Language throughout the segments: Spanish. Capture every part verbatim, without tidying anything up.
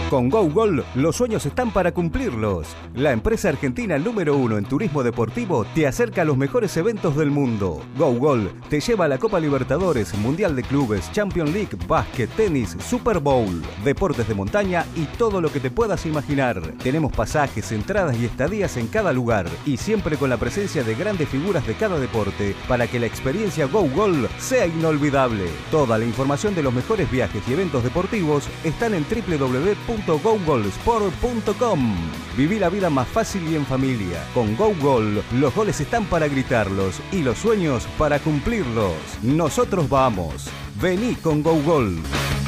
Con GoGol, los sueños están para cumplirlos. La empresa argentina número uno en turismo deportivo te acerca a los mejores eventos del mundo. GoGol te lleva a la Copa Libertadores, Mundial de Clubes, Champions League, básquet, tenis, Super Bowl, deportes de montaña y todo lo que te puedas imaginar. Tenemos pasajes, entradas y estadías en cada lugar y siempre con la presencia de grandes figuras de cada deporte para que la experiencia GoGol sea inolvidable. Toda la información de los mejores viajes y eventos deportivos están en doble u doble u doble u punto gogolsport punto com. Viví la vida más fácil y en familia. Con GoGol, los goles están para gritarlos y los sueños para cumplirlos. Nosotros vamos. Vení con GoGol.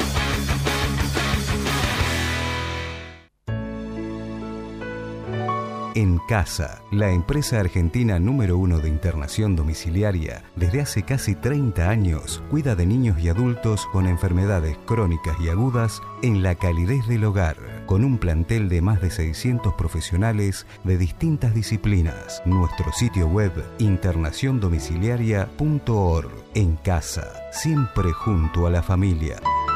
En Casa, la empresa argentina número uno de internación domiciliaria, desde hace casi treinta años, cuida de niños y adultos con enfermedades crónicas y agudas en la calidez del hogar, con un plantel de más de seiscientos profesionales de distintas disciplinas. Nuestro sitio web, internación domiciliaria punto org. En Casa, siempre junto a la familia.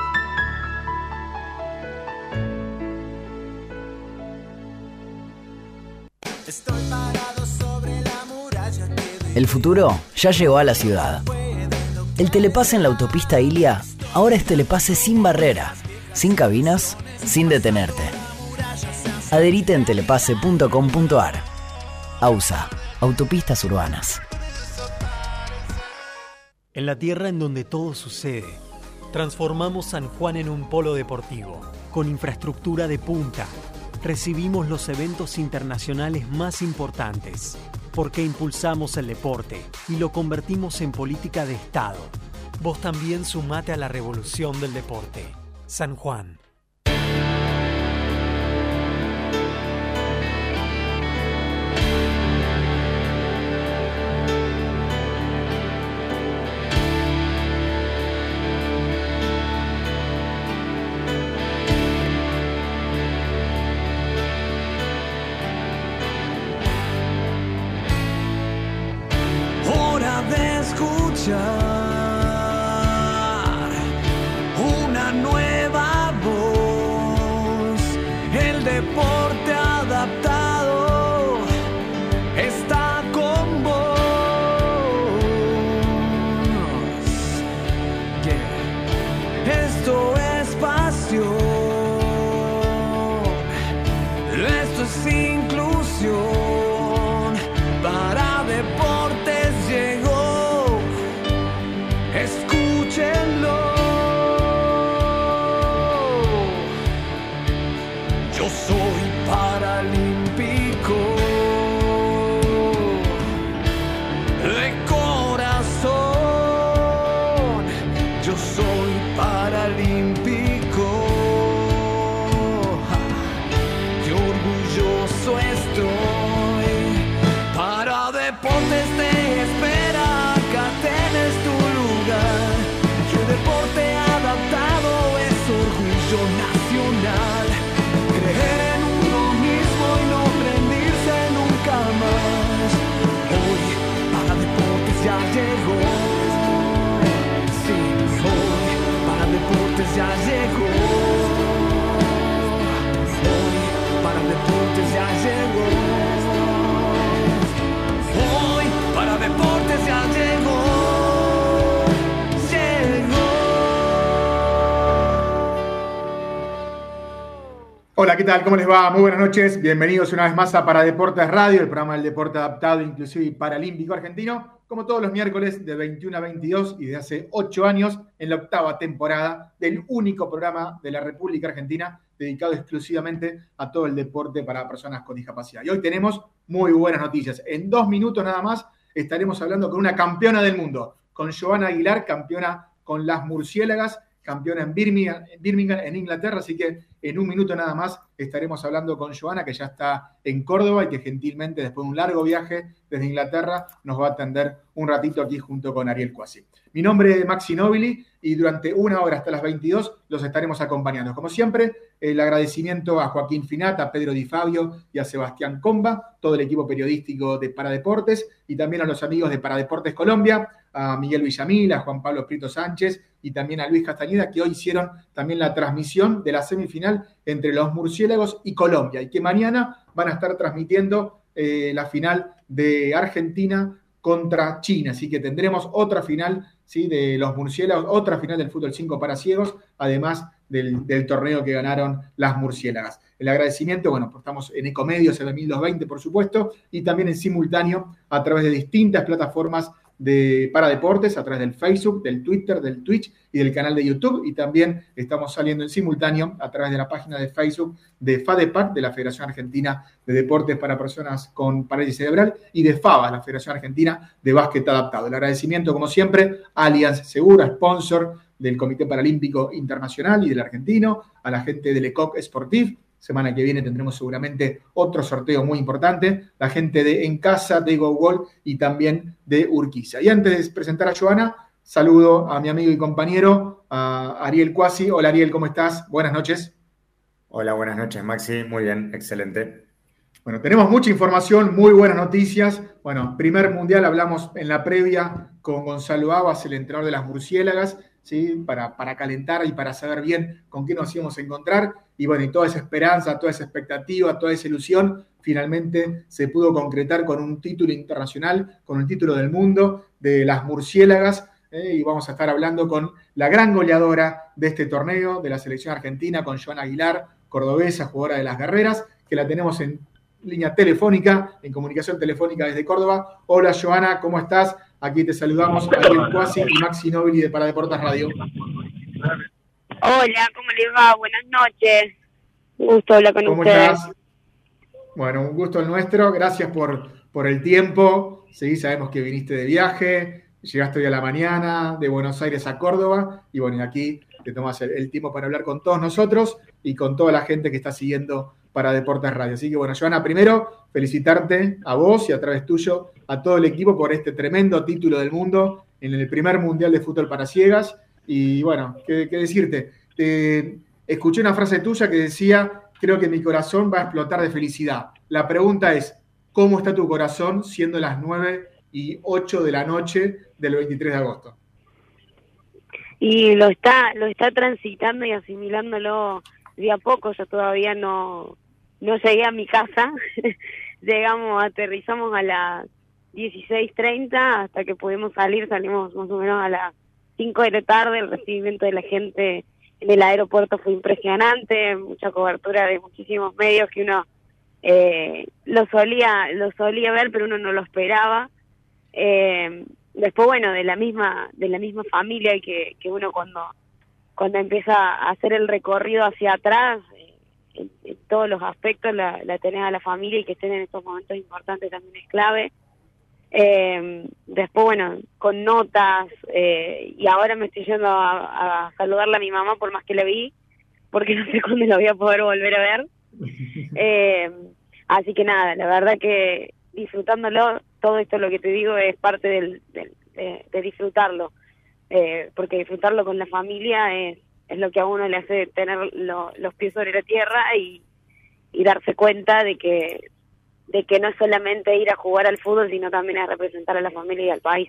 El futuro ya llegó a la ciudad. El telepase en la autopista Ilia ahora es telepase sin barrera, sin cabinas, sin detenerte. Adherite en telepase punto com punto ar. AUSA, Autopistas Urbanas. En la tierra en donde todo sucede, transformamos San Juan en un polo deportivo, con infraestructura de punta. Recibimos los eventos internacionales más importantes, porque impulsamos el deporte y lo convertimos en política de Estado. Vos también sumate a la revolución del deporte. San Juan. Una nueva voz, el deporte adaptado está con vos. Yeah. Esto es pasión, esto es inclusión. Para deportes llegó. Escúchenlo. Yo soy paralímpico de corazón. Yo soy paralímpico. Qué orgulloso estoy. Para deportes te espera. Acá tenés tu lugar. Que el deporte adaptado es orgullo nacional. Creer en uno mismo y no rendirse nunca más. Hoy para deportes ya llegó. Sí, hoy para deportes ya llegó. Hoy para deportes ya llegó. Hoy para deportes ya llegó. Hola, ¿qué tal? ¿Cómo les va? Muy buenas noches. Bienvenidos una vez más a Para Deportes Radio, el programa del deporte adaptado, inclusive y paralímpico argentino, como todos los miércoles de veintiuno a veintidós y de hace ocho años en la octava temporada del único programa de la República Argentina dedicado exclusivamente a todo el deporte para personas con discapacidad. Y hoy tenemos muy buenas noticias. En dos minutos nada más estaremos hablando con una campeona del mundo, con Johanna Aguilar, campeona con las Murciélagas, campeona en Birmingham, Birmingham, en Inglaterra, así que en un minuto nada más estaremos hablando con Johanna, que ya está en Córdoba y que gentilmente, después de un largo viaje desde Inglaterra, nos va a atender un ratito aquí junto con Ariel Cuasi. Mi nombre es Maxi Nobili y durante una hora hasta las veintidós los estaremos acompañando. Como siempre, el agradecimiento a Joaquín Finata, a Pedro Di Fabio y a Sebastián Comba, todo el equipo periodístico de Paradeportes y también a los amigos de Paradeportes Colombia, a Miguel Villamil, a Juan Pablo Prieto Sánchez y también a Luis Castañeda, que hoy hicieron también la transmisión de la semifinal entre los murciélagos y Colombia, y que mañana van a estar transmitiendo eh, la final de Argentina contra China, así que tendremos otra final, ¿sí?, de los murciélagos, otra final del fútbol cinco para ciegos, además del, del torneo que ganaron las murciélagas. El agradecimiento, bueno, pues estamos en Ecomedios en el mil doscientos veinte, por supuesto, y también en simultáneo a través de distintas plataformas de para deportes, a través del Facebook, del Twitter, del Twitch y del canal de YouTube, y también estamos saliendo en simultáneo a través de la página de Facebook de FADEPAC, de la Federación Argentina de Deportes para Personas con Parálisis Cerebral, y de FABA, la Federación Argentina de Básquet Adaptado. El agradecimiento, como siempre, a Allianz Segura, sponsor del Comité Paralímpico Internacional y del Argentino, a la gente del ECOC Sportif. Semana que viene tendremos seguramente otro sorteo muy importante, la gente de En Casa, de GoGol y también de Urquiza. Y antes de presentar a Joana, saludo a mi amigo y compañero, a Ariel Cuasi. Hola Ariel, ¿cómo estás? Buenas noches. Hola, buenas noches Maxi, muy bien, excelente. Bueno, tenemos mucha información, muy buenas noticias. Bueno, primer mundial, hablamos en la previa con Gonzalo Abas, el entrenador de las murciélagas, ¿sí? Para, para calentar y para saber bien con qué nos íbamos a encontrar. Y bueno, y toda esa esperanza, toda esa expectativa, toda esa ilusión, finalmente se pudo concretar con un título internacional, con el título del mundo de las murciélagas. Eh, y vamos a estar hablando con la gran goleadora de este torneo, de la selección argentina, con Joana Aguilar, cordobesa, jugadora de las guerreras, que la tenemos en línea telefónica, en comunicación telefónica desde Córdoba. Hola Joana, ¿cómo estás? Aquí te saludamos, Ariel Cuasi y Maxi Nobili de Para Deportes Radio. Hola, ¿cómo les va? Buenas noches. Un gusto hablar con ¿Cómo ustedes. estás? Bueno, un gusto el nuestro. Gracias por, por el tiempo. Sí, sabemos que viniste de viaje, llegaste hoy a la mañana de Buenos Aires a Córdoba y bueno, aquí te tomas el, el tiempo para hablar con todos nosotros y con toda la gente que está siguiendo Para Deportes Radio. Así que bueno, Joana, primero felicitarte a vos y a través tuyo a todo el equipo por este tremendo título del mundo en el primer Mundial de Fútbol para Ciegas. Y bueno, qué, qué decirte. Te, escuché una frase tuya que decía, creo que mi corazón va a explotar de felicidad. La pregunta es, ¿cómo está tu corazón siendo las nueve y ocho de la noche del veintitrés de agosto? Y lo está, lo está transitando y asimilándolo de a poco. Yo todavía no, no llegué a mi casa. Llegamos, aterrizamos a las dieciséis treinta, hasta que pudimos salir, salimos más o menos a las cinco de la tarde. El recibimiento de la gente en el aeropuerto fue impresionante, mucha cobertura de muchísimos medios que uno eh, lo solía lo solía ver, pero uno no lo esperaba. Eh, después, bueno, de la misma de la misma familia que, que uno cuando cuando empieza a hacer el recorrido hacia atrás, eh, en, en todos los aspectos la, la tenés a la familia, y que estén en estos momentos importantes también es clave. Eh, después, bueno, con notas, eh, y ahora me estoy yendo a, a saludarle a mi mamá, por más que la vi, porque no sé cuándo la voy a poder volver a ver. Eh, así que nada, la verdad que disfrutándolo, todo esto lo que te digo es parte del, del, de, de disfrutarlo, eh, porque disfrutarlo con la familia es, es lo que a uno le hace tener lo, los pies sobre la tierra y, y darse cuenta de que de que no es solamente ir a jugar al fútbol, sino también a representar a la familia y al país.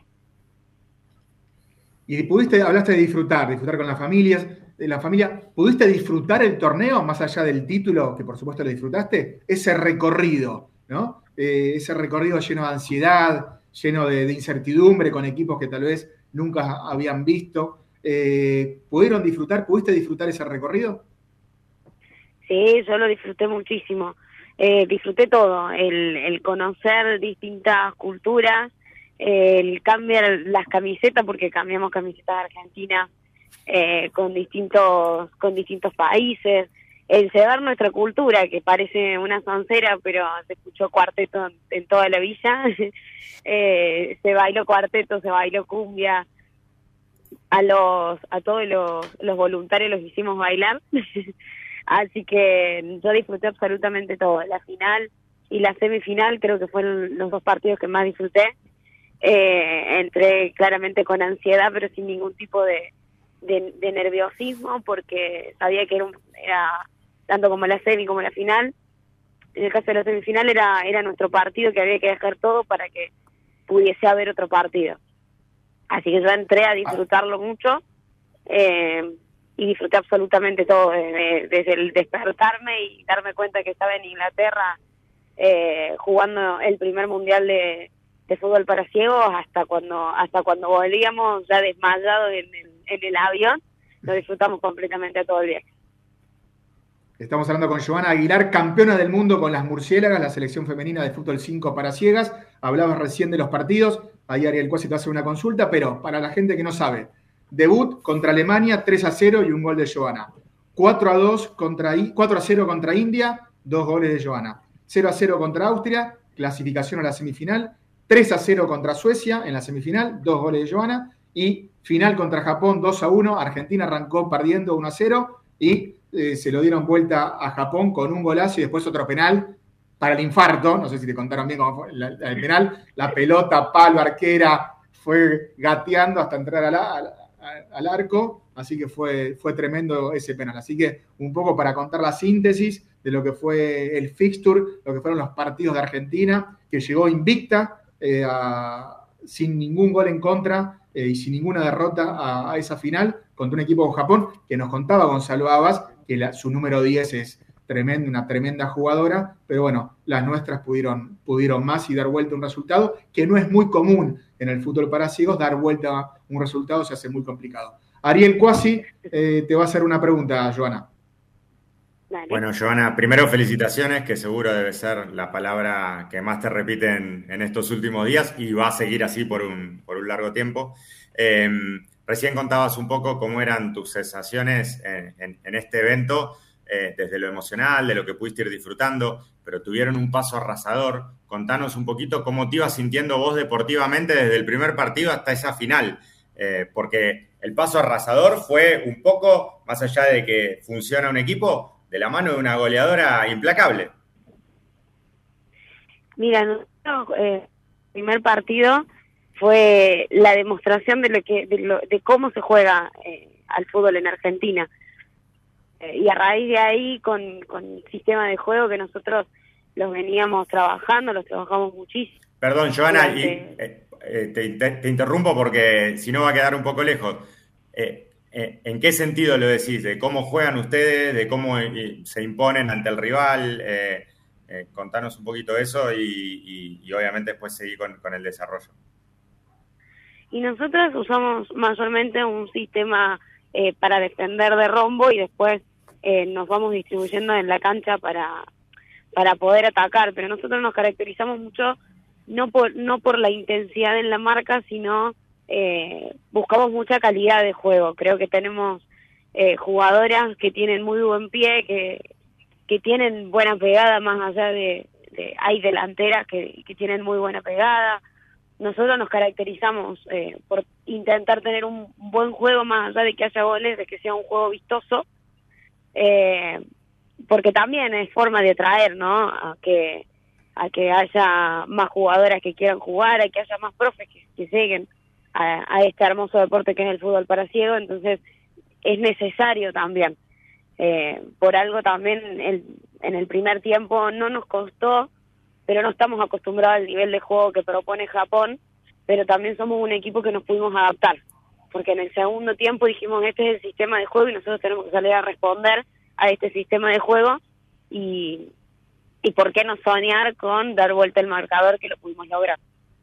Y pudiste, hablaste de disfrutar, disfrutar con las familias, de la familia. ¿Pudiste disfrutar el torneo, más allá del título, que por supuesto lo disfrutaste? Ese recorrido, ¿no? Eh, ese recorrido lleno de ansiedad, lleno de, de incertidumbre, con equipos que tal vez nunca habían visto. Eh, ¿Pudieron disfrutar? ¿Pudiste disfrutar ese recorrido? Sí, yo lo disfruté muchísimo. Eh, disfruté todo, el, el conocer distintas culturas, el cambiar las camisetas, porque cambiamos camisetas argentinas eh, con distintos con distintos países, el llevar nuestra cultura, que parece una soncera, pero se escuchó cuarteto en, en toda la villa. eh, se bailó cuarteto, se bailó cumbia, a los a todos los, los voluntarios los hicimos bailar. Así que yo disfruté absolutamente todo. La final y la semifinal creo que fueron los dos partidos que más disfruté. Eh, entré claramente con ansiedad, pero sin ningún tipo de, de, de nerviosismo, porque sabía que era, un, era tanto como la semi como la final. En el caso de la semifinal era, era nuestro partido, que había que dejar todo para que pudiese haber otro partido. Así que yo entré a disfrutarlo mucho eh, y disfruté absolutamente todo, desde, desde el despertarme y darme cuenta que estaba en Inglaterra eh, jugando el primer mundial de, de fútbol para ciegos hasta cuando hasta cuando volvíamos ya desmayados en el, en el avión. Lo disfrutamos completamente a todo el viaje. Estamos hablando con Joana Aguilar, campeona del mundo con las Murciélagas, la selección femenina de fútbol cinco para ciegas. Hablabas recién de los partidos, ahí Ariel Cuasi te hace una consulta, pero para la gente que no sabe, debut contra Alemania, tres a cero y un gol de Joana. cuatro a dos contra, cuatro a cero contra India, dos goles de Joana. cero a cero contra Austria, clasificación a la semifinal. tres a cero contra Suecia en la semifinal, dos goles de Joana. Y final contra Japón, dos a uno. Argentina arrancó perdiendo uno a cero y eh, se lo dieron vuelta a Japón con un golazo y después otro penal para el infarto. No sé si te contaron bien cómo fue la, la, el penal. La pelota, palo, arquera, fue gateando hasta entrar al, al, al arco. Así que fue, fue tremendo ese penal. Así que un poco para contar la síntesis de lo que fue el fixture, lo que fueron los partidos de Argentina, que llegó invicta, eh, a, sin ningún gol en contra eh, y sin ninguna derrota a, a esa final contra un equipo de Japón, que nos contaba Gonzalo Abas, que la, su número diez es tremendo, una tremenda jugadora, pero bueno, las nuestras pudieron, pudieron más y dar vuelta un resultado, que no es muy común en el fútbol para ciegos, dar vuelta un resultado se hace muy complicado. Ariel Cuasi eh, te va a hacer una pregunta, Joana. Vale. Bueno, Joana, primero felicitaciones, que seguro debe ser la palabra que más te repiten en estos últimos días y va a seguir así por un, por un largo tiempo. Eh, recién contabas un poco cómo eran tus sensaciones en, en, en este evento, eh, desde lo emocional, de lo que pudiste ir disfrutando, pero tuvieron un paso arrasador. Contanos un poquito cómo te ibas sintiendo vos deportivamente desde el primer partido hasta esa final, eh, porque el paso arrasador fue un poco, más allá de que funciona un equipo, de la mano de una goleadora implacable. Mira, nosotros, eh, el primer partido fue la demostración de lo que de, lo, de cómo se juega eh, al fútbol en Argentina. Eh, y a raíz de ahí, con, con el sistema de juego que nosotros los veníamos trabajando, los trabajamos muchísimo. Perdón, Joana, y, eh, eh, te, te, te interrumpo porque si no va a quedar un poco lejos. Eh, ¿En qué sentido lo decís? ¿De cómo juegan ustedes? ¿De cómo se imponen ante el rival? Eh, eh, contanos un poquito eso y, y, y obviamente después seguir con, con el desarrollo. Y nosotros usamos mayormente un sistema eh, para defender de rombo y después eh, nos vamos distribuyendo en la cancha para, para poder atacar. Pero nosotros nos caracterizamos mucho no por, no por la intensidad en la marca, sino... Eh, buscamos mucha calidad de juego. Creo que tenemos eh, jugadoras que tienen muy buen pie, que, que tienen buena pegada, más allá de, de hay delanteras que, que tienen muy buena pegada. Nosotros nos caracterizamos eh, por intentar tener un buen juego, más allá de que haya goles, de que sea un juego vistoso, eh, porque también es forma de atraer, ¿no? A que, a que haya más jugadoras que quieran jugar, a que haya más profes que, que lleguen A, a este hermoso deporte que es el fútbol para ciego. Entonces es necesario también. Eh, por algo también el, en el primer tiempo no nos costó, pero no estamos acostumbrados al nivel de juego que propone Japón, pero también somos un equipo que nos pudimos adaptar, porque en el segundo tiempo dijimos, este es el sistema de juego y nosotros tenemos que salir a responder a este sistema de juego y, y por qué no soñar con dar vuelta el marcador, que lo pudimos lograr.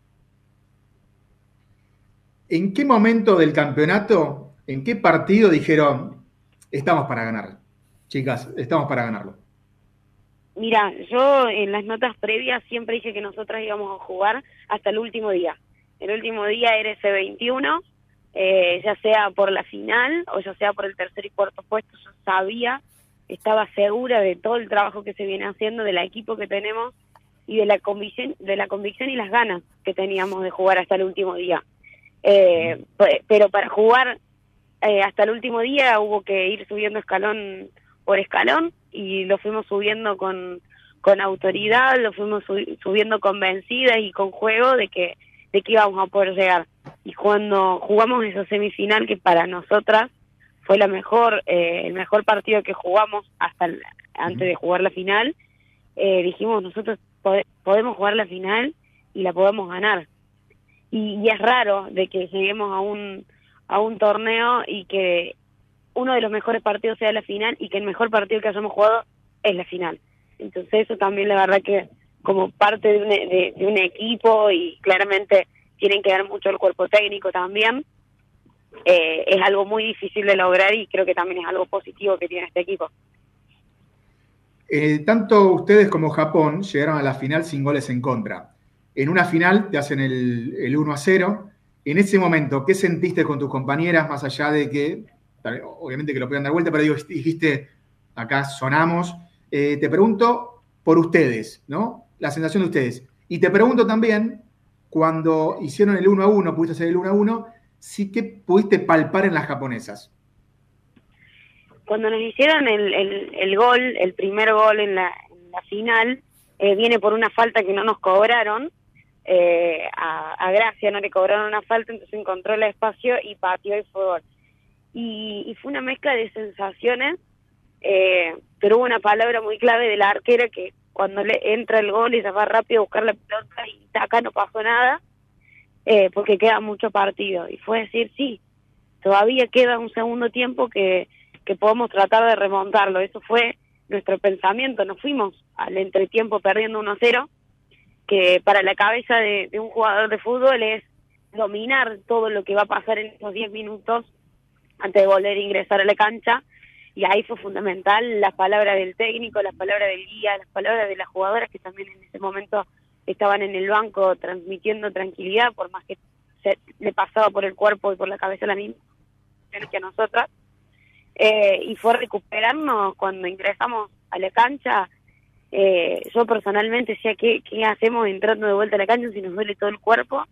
¿En qué momento del campeonato, en qué partido dijeron, estamos para ganar? Chicas, estamos para ganarlo. Mira, yo en las notas previas siempre dije que nosotras íbamos a jugar hasta el último día. El último día era ese veintiuno, eh, ya sea por la final o ya sea por el tercer y cuarto puesto. Yo sabía, estaba segura de todo el trabajo que se viene haciendo, del equipo que tenemos y de la convicción, de la convicción y las ganas que teníamos de jugar hasta el último día. Eh, pero para jugar eh, hasta el último día hubo que ir subiendo escalón por escalón y lo fuimos subiendo con, con autoridad, lo fuimos su- subiendo convencidas y con juego de que, de que íbamos a poder llegar. Y cuando jugamos esa semifinal, que para nosotras fue la mejor eh, el mejor partido que jugamos hasta el, antes de jugar la final, eh, dijimos nosotros pode- podemos jugar la final y la podemos ganar. y, y es raro de que lleguemos a un, a un torneo y que uno de los mejores partidos sea la final y que el mejor partido que hayamos jugado es la final. Entonces eso también la verdad que como parte de un, de, de un equipo, y claramente tienen que ver mucho el cuerpo técnico también, eh, es algo muy difícil de lograr y creo que también es algo positivo que tiene este equipo. Eh, tanto ustedes como Japón llegaron a la final sin goles en contra. En una final te hacen el, el uno a cero. En ese momento, ¿qué sentiste con tus compañeras, más allá de que, obviamente que lo puedan dar vuelta, pero digo, dijiste, acá sonamos? Eh, te pregunto por ustedes, ¿no? La sensación de ustedes. Y te pregunto también, cuando hicieron el uno a uno, pudiste hacer el uno a uno, sí que pudiste palpar en las japonesas. Cuando nos hicieron el, el, el gol, el primer gol en la, en la final, eh, viene por una falta que no nos cobraron. Eh, a, a Gracia no le cobraron una falta, entonces encontró el espacio y pateó y fue gol. Y, y fue una mezcla de sensaciones, eh, pero hubo una palabra muy clave de la arquera que cuando le entra el gol ella va rápido a buscar la pelota y acá no pasó nada, eh, porque queda mucho partido. Y fue decir, sí, todavía queda un segundo tiempo que, que podemos tratar de remontarlo. Eso fue nuestro pensamiento. Nos fuimos al entretiempo perdiendo uno a cero, que para la cabeza de, de un jugador de fútbol es dominar todo lo que va a pasar en esos diez minutos antes de volver a ingresar a la cancha. Y ahí fue fundamental las palabras del técnico, las palabras del guía, las palabras de las jugadoras que también en ese momento estaban en el banco transmitiendo tranquilidad, por más que se le pasaba por el cuerpo y por la cabeza la misma que a nosotras. Eh, y fue recuperarnos cuando ingresamos a la cancha. Eh, yo personalmente decía, ¿qué, ¿qué hacemos entrando de vuelta a la cancha si nos duele todo el cuerpo?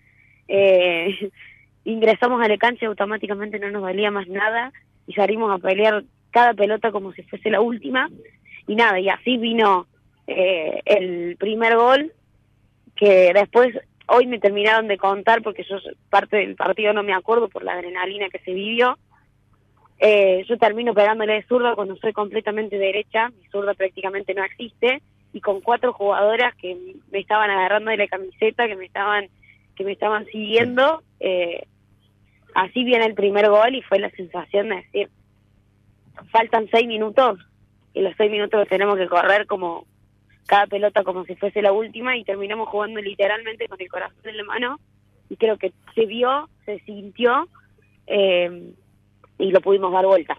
Eh, ingresamos a la cancha y automáticamente no nos dolía más nada y salimos a pelear cada pelota como si fuese la última, y nada, y así vino eh, el primer gol, que después hoy me terminaron de contar, porque yo parte del partido no me acuerdo por la adrenalina que se vivió. Eh, yo termino pegándole de zurda cuando soy completamente derecha, mi zurda prácticamente no existe, y con cuatro jugadoras que me estaban agarrando de la camiseta, que me estaban que me estaban siguiendo. Eh, así viene el primer gol y fue la sensación de decir, faltan seis minutos y los seis minutos los tenemos que correr como cada pelota como si fuese la última, y terminamos jugando literalmente con el corazón en la mano, y creo que se vio, se sintió, eh, y lo pudimos dar vuelta.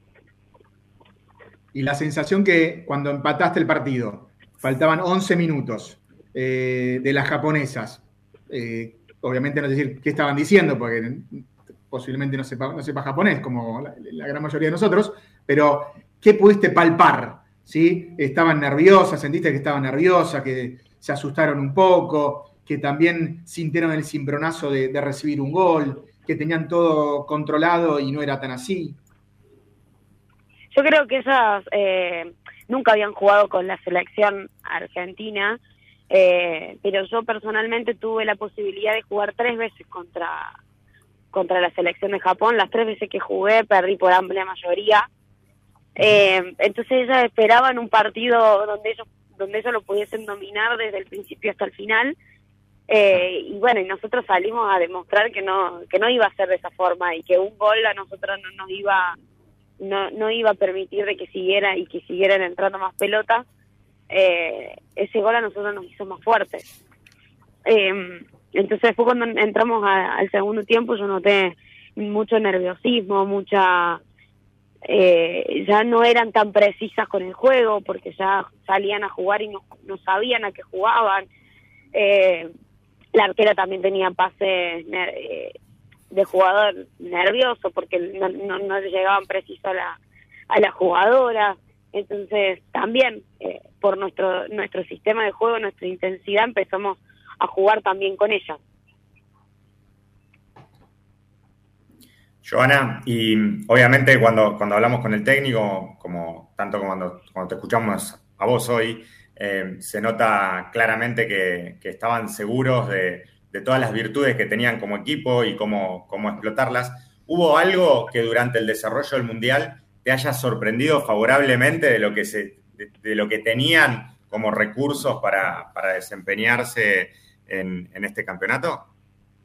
Y la sensación que cuando empataste el partido, faltaban once minutos eh, de las japonesas, eh, obviamente no es decir qué estaban diciendo, porque posiblemente no sepa, no sepa japonés, como la, la gran mayoría de nosotros, pero ¿qué pudiste palpar? ¿Sí? ¿Estaban nerviosas? ¿Sentiste que estaban nerviosas? ¿Que se asustaron un poco? ¿Que también sintieron el cimbronazo de, de recibir un gol? ¿Que tenían todo controlado y no era tan así? Yo creo que ellas eh, nunca habían jugado con la selección argentina, eh, pero yo personalmente tuve la posibilidad de jugar tres veces contra... contra la selección de Japón. Las tres veces que jugué perdí por amplia mayoría, eh, entonces ellas esperaban un partido donde ellos donde ellos lo pudiesen dominar desde el principio hasta el final, eh, y bueno, y nosotros salimos a demostrar que no que no iba a ser de esa forma, y que un gol a nosotros no nos iba no no iba a permitir de que siguiera y que siguieran entrando más pelotas. Eh, ese gol a nosotros nos hizo más fuertes. eh, Entonces fue cuando entramos a, al segundo tiempo, yo noté mucho nerviosismo, mucha... Eh, ya no eran tan precisas con el juego, porque ya salían a jugar y no, no sabían a qué jugaban. Eh, la arquera también tenía pases eh, de jugador nervioso, porque no, no, no llegaban precisos a la, a la jugadora. Entonces también, eh, por nuestro, nuestro sistema de juego, nuestra intensidad, empezamos a jugar también con ella. Joana, y obviamente cuando, cuando hablamos con el técnico, como tanto como cuando, cuando te escuchamos a vos hoy, eh, se nota claramente que, que estaban seguros de, de todas las virtudes que tenían como equipo y cómo, cómo explotarlas. ¿Hubo algo que durante el desarrollo del Mundial te haya sorprendido favorablemente de lo que, se, de, de lo que tenían como recursos para, para desempeñarse en, en este campeonato?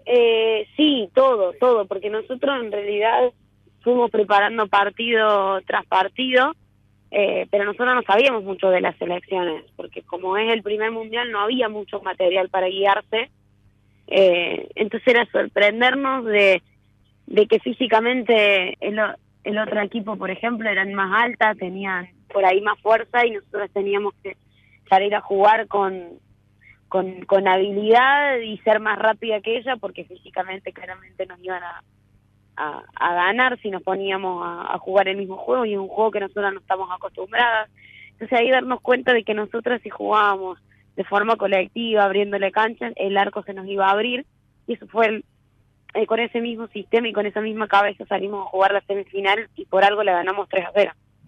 Eh, sí, todo, todo, porque nosotros en realidad fuimos preparando partido tras partido, eh, pero nosotros no sabíamos mucho de las selecciones, porque como es el primer mundial no había mucho material para guiarse, eh, entonces era sorprendernos de, de que físicamente el, el otro equipo, por ejemplo, eran más altas, tenían por ahí más fuerza y nosotros teníamos que salir a jugar con, con, con habilidad y ser más rápida que ella, porque físicamente claramente nos iban a A, a ganar si nos poníamos a, a jugar el mismo juego, y es un juego que nosotros no estamos acostumbradas. Entonces ahí darnos cuenta de que nosotros, si jugábamos de forma colectiva, abriéndole canchas, el arco se nos iba a abrir, y eso fue el, eh, con ese mismo sistema y con esa misma cabeza salimos a jugar la semifinal y por algo le ganamos tres a cero.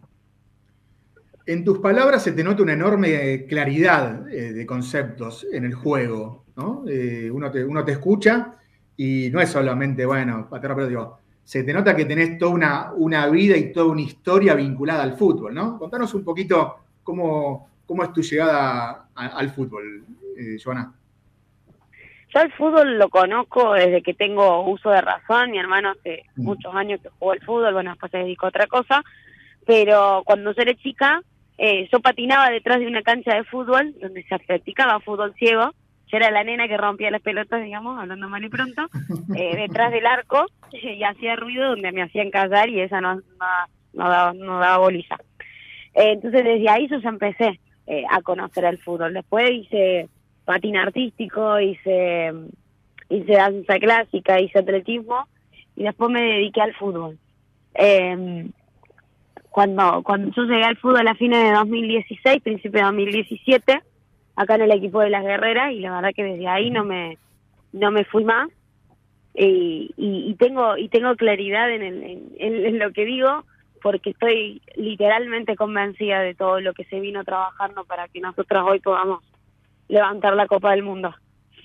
En tus palabras se te nota una enorme claridad eh, de conceptos en el juego, ¿no? Eh, uno, te, uno te escucha y no es solamente, bueno, patear, pero digo, se te nota que tenés toda una, una vida y toda una historia vinculada al fútbol, ¿no? Contanos un poquito cómo, cómo es tu llegada a, al fútbol, eh, Joana. Yo el fútbol lo conozco desde que tengo uso de razón. Mi hermano hace mm. muchos años que jugó al fútbol, bueno, después se dedicó a otra cosa, pero cuando yo era chica, eh, yo patinaba detrás de una cancha de fútbol donde se practicaba fútbol ciego. Yo era la nena que rompía las pelotas, digamos, hablando mal y pronto, eh, detrás del arco, y hacía ruido donde me hacían callar, y esa no, no, no, daba, no daba bolilla. Eh, entonces desde ahí yo ya empecé eh, a conocer el fútbol. Después hice patín artístico, hice, hice danza clásica, hice atletismo, y después me dediqué al fútbol. Eh, cuando, cuando yo llegué al fútbol a fines de dos mil dieciséis, principio de dos mil diecisiete, acá en el equipo de las guerreras, y la verdad que desde ahí no me no me fui más, y, y, y tengo y tengo claridad en, el, en, en lo que digo, porque estoy literalmente convencida de todo lo que se vino trabajando para que nosotros hoy podamos levantar la Copa del Mundo.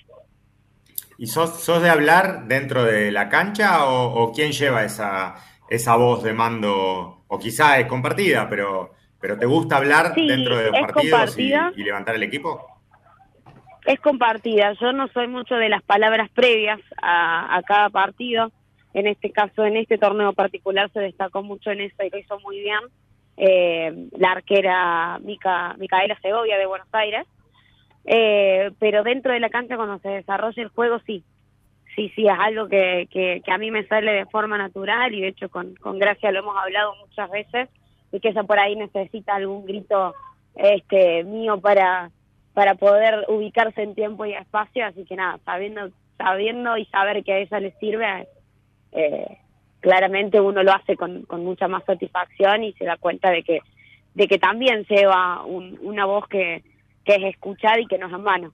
¿Y sos, sos de hablar dentro de la cancha o, o quién lleva esa esa voz de mando? O quizá es compartida, pero... ¿Pero te gusta hablar sí, dentro de los partidos y, y levantar el equipo? Es compartida. Yo no soy mucho de las palabras previas a, a cada partido. En este caso, en este torneo particular, se destacó mucho en eso y lo hizo muy bien eh, la arquera Mica, Micaela Segovia de Buenos Aires. Eh, pero dentro de la cancha, cuando se desarrolla el juego, sí. Sí, sí, es algo que, que, que a mí me sale de forma natural, y de hecho con, con Gracia lo hemos hablado muchas veces, y que ella por ahí necesita algún grito este mío para para poder ubicarse en tiempo y espacio, así que nada, sabiendo sabiendo y saber que a ella le sirve, eh, claramente uno lo hace con, con mucha más satisfacción y se da cuenta de que de que también lleva un, una voz que, que es escuchada y que no es en vano.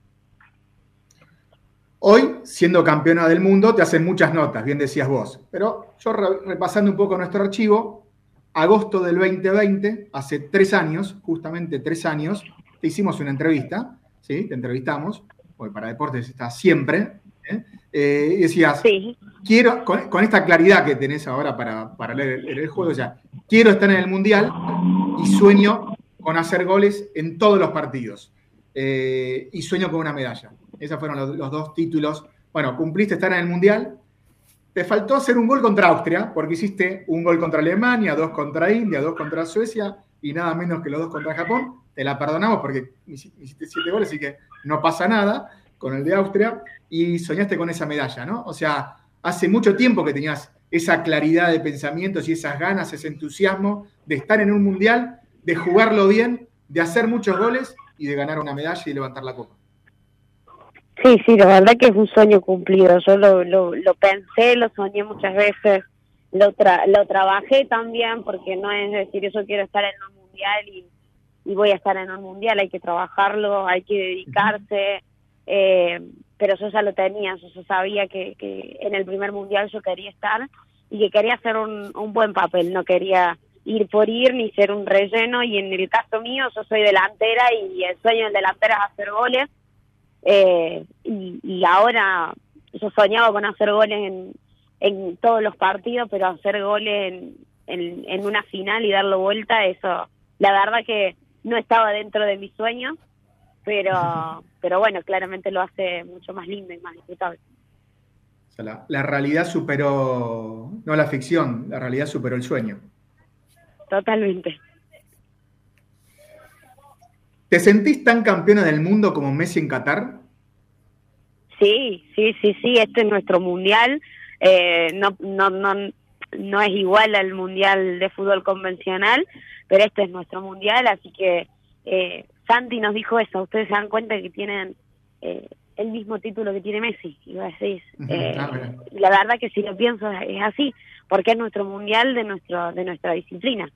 Hoy, siendo campeona del mundo, te hacen muchas notas, bien decías vos, pero yo re- repasando un poco nuestro archivo, agosto del veinte veinte, hace tres años, justamente tres años, te hicimos una entrevista, ¿sí? Te entrevistamos, porque para deportes está siempre, ¿eh? Eh, y decías, sí. quiero, con, con esta claridad que tenés ahora para, para leer el, el juego, ya, quiero estar en el Mundial y sueño con hacer goles en todos los partidos, eh, y sueño con una medalla. Esos fueron los, los dos títulos. Bueno, cumpliste estar en el Mundial. Te faltó hacer un gol contra Austria, porque hiciste un gol contra Alemania, dos contra India, dos contra Suecia y nada menos que los dos contra Japón. Te la perdonamos porque hiciste siete goles, así que no pasa nada con el de Austria, y soñaste con esa medalla, ¿no? O sea, hace mucho tiempo que tenías esa claridad de pensamientos y esas ganas, ese entusiasmo de estar en un mundial, de jugarlo bien, de hacer muchos goles y de ganar una medalla y levantar la copa. Sí, sí, la verdad que es un sueño cumplido. Yo lo, lo, lo pensé, lo soñé muchas veces, lo, tra lo trabajé también, porque no es decir yo quiero estar en un mundial y, y voy a estar en un mundial, hay que trabajarlo, hay que dedicarse, eh, pero yo ya lo tenía, yo, yo sabía que, que en el primer mundial yo quería estar y que quería hacer un, un buen papel, no quería ir por ir ni ser un relleno, y en el caso mío yo soy delantera y el sueño del delantero es hacer goles. Eh, y, y ahora yo soñaba con hacer goles en, en todos los partidos, pero hacer goles en, en, en una final y darlo vuelta, eso la verdad que no estaba dentro de mis sueños, pero pero bueno, claramente lo hace mucho más lindo y más disfrutable. sea, la, la realidad superó, no la ficción, la realidad superó el sueño. Totalmente. ¿Te sentís tan campeona del mundo como Messi en Qatar? Sí, sí, sí, sí, este es nuestro mundial. Eh, no, no, no, no es igual al mundial de fútbol convencional, pero este es nuestro mundial, así que eh, Santi nos dijo eso. Ustedes se dan cuenta que tienen eh, el mismo título que tiene Messi, y vos decís, eh, ah, la verdad que si lo pienso es así, porque es nuestro mundial de nuestro de nuestra disciplina.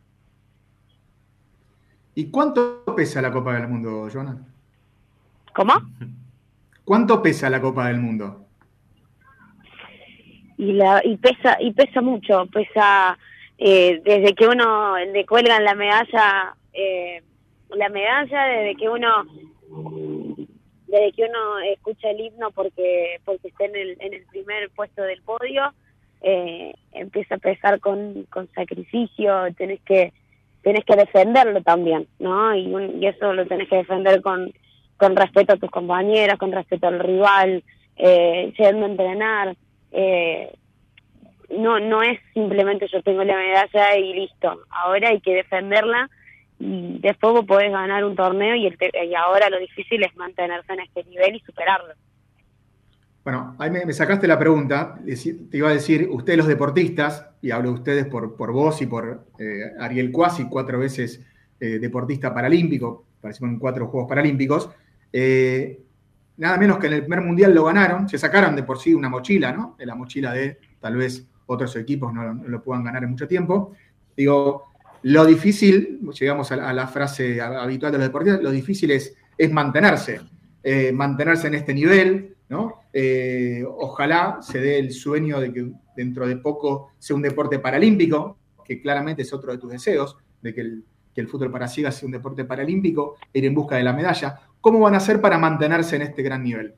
¿Y cuánto pesa la Copa del Mundo, Joana? ¿Cómo? ¿Cuánto pesa la Copa del Mundo? Y la y pesa y pesa mucho, pesa eh, desde que uno le cuelgan la medalla, eh, la medalla, desde que uno desde que uno escucha el himno porque porque está en el en el primer puesto del podio, eh, empieza a pesar con, con sacrificio, tenés que tenés que defenderlo también, ¿no? Y, un, y eso lo tenés que defender con, con respeto a tus compañeros, con respeto al rival, eh, yendo a entrenar. Eh, no no es simplemente yo tengo la medalla y listo. Ahora hay que defenderla y después vos podés ganar un torneo y, el te, y ahora lo difícil es mantenerse en este nivel y superarlo. Bueno, ahí me, me sacaste la pregunta, te iba a decir, ustedes los deportistas, y hablo de ustedes por, por vos y por eh, Ariel Cuasi, cuatro veces eh, deportista paralímpico, participó en cuatro Juegos Paralímpicos, eh, nada menos que en el primer Mundial lo ganaron, se sacaron de por sí una mochila, ¿no? De la mochila de tal vez otros equipos no, no lo puedan ganar en mucho tiempo. Digo, lo difícil, llegamos a la, a la frase habitual de los deportistas, lo difícil es, es mantenerse, eh, mantenerse en este nivel, ¿no? Eh, ojalá se dé el sueño de que dentro de poco sea un deporte paralímpico, que claramente es otro de tus deseos, de que el, que el fútbol para ciegas sea un deporte paralímpico, e ir en busca de la medalla. ¿Cómo van a hacer para mantenerse en este gran nivel?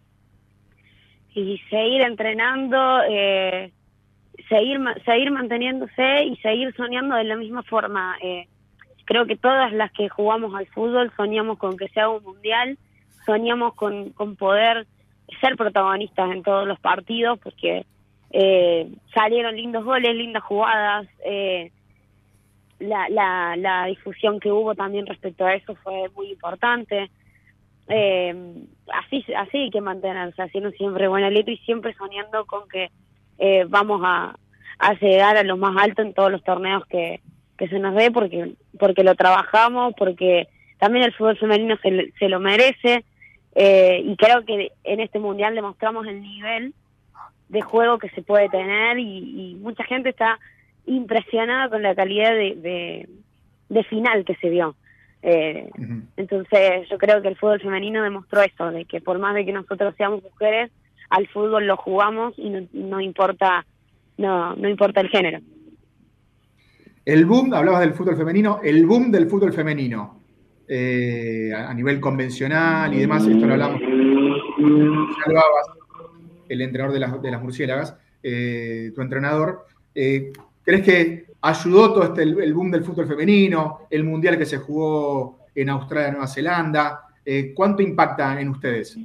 Y seguir entrenando, eh, seguir seguir manteniéndose y seguir soñando de la misma forma. Eh, creo que todas las que jugamos al fútbol soñamos con que sea un mundial, soñamos con, con poder ser protagonistas en todos los partidos, porque eh, salieron lindos goles, lindas jugadas, eh, la, la, la difusión que hubo también respecto a eso fue muy importante. Eh, así así hay que mantenerse, haciendo siempre buena letra y siempre soñando con que eh, vamos a, a llegar a lo más alto en todos los torneos que, que se nos dé, porque porque lo trabajamos, porque también el fútbol femenino se, se lo merece. Eh, y creo que en este mundial demostramos el nivel de juego que se puede tener y, y mucha gente está impresionada con la calidad de, de, de final que se vio. Eh, uh-huh. Entonces yo creo que el fútbol femenino demostró eso, de que por más de que nosotros seamos mujeres, al fútbol lo jugamos y no, no importa no, no importa el género. El boom, hablabas del fútbol femenino, el boom del fútbol femenino. Eh, a nivel convencional y demás, esto lo hablamos, salvabas, el entrenador de las, de las murciélagas, eh, tu entrenador, eh, ¿crees que ayudó todo este el, el boom del fútbol femenino, el mundial que se jugó en Australia, Nueva Zelanda? Eh, ¿cuánto impacta en ustedes?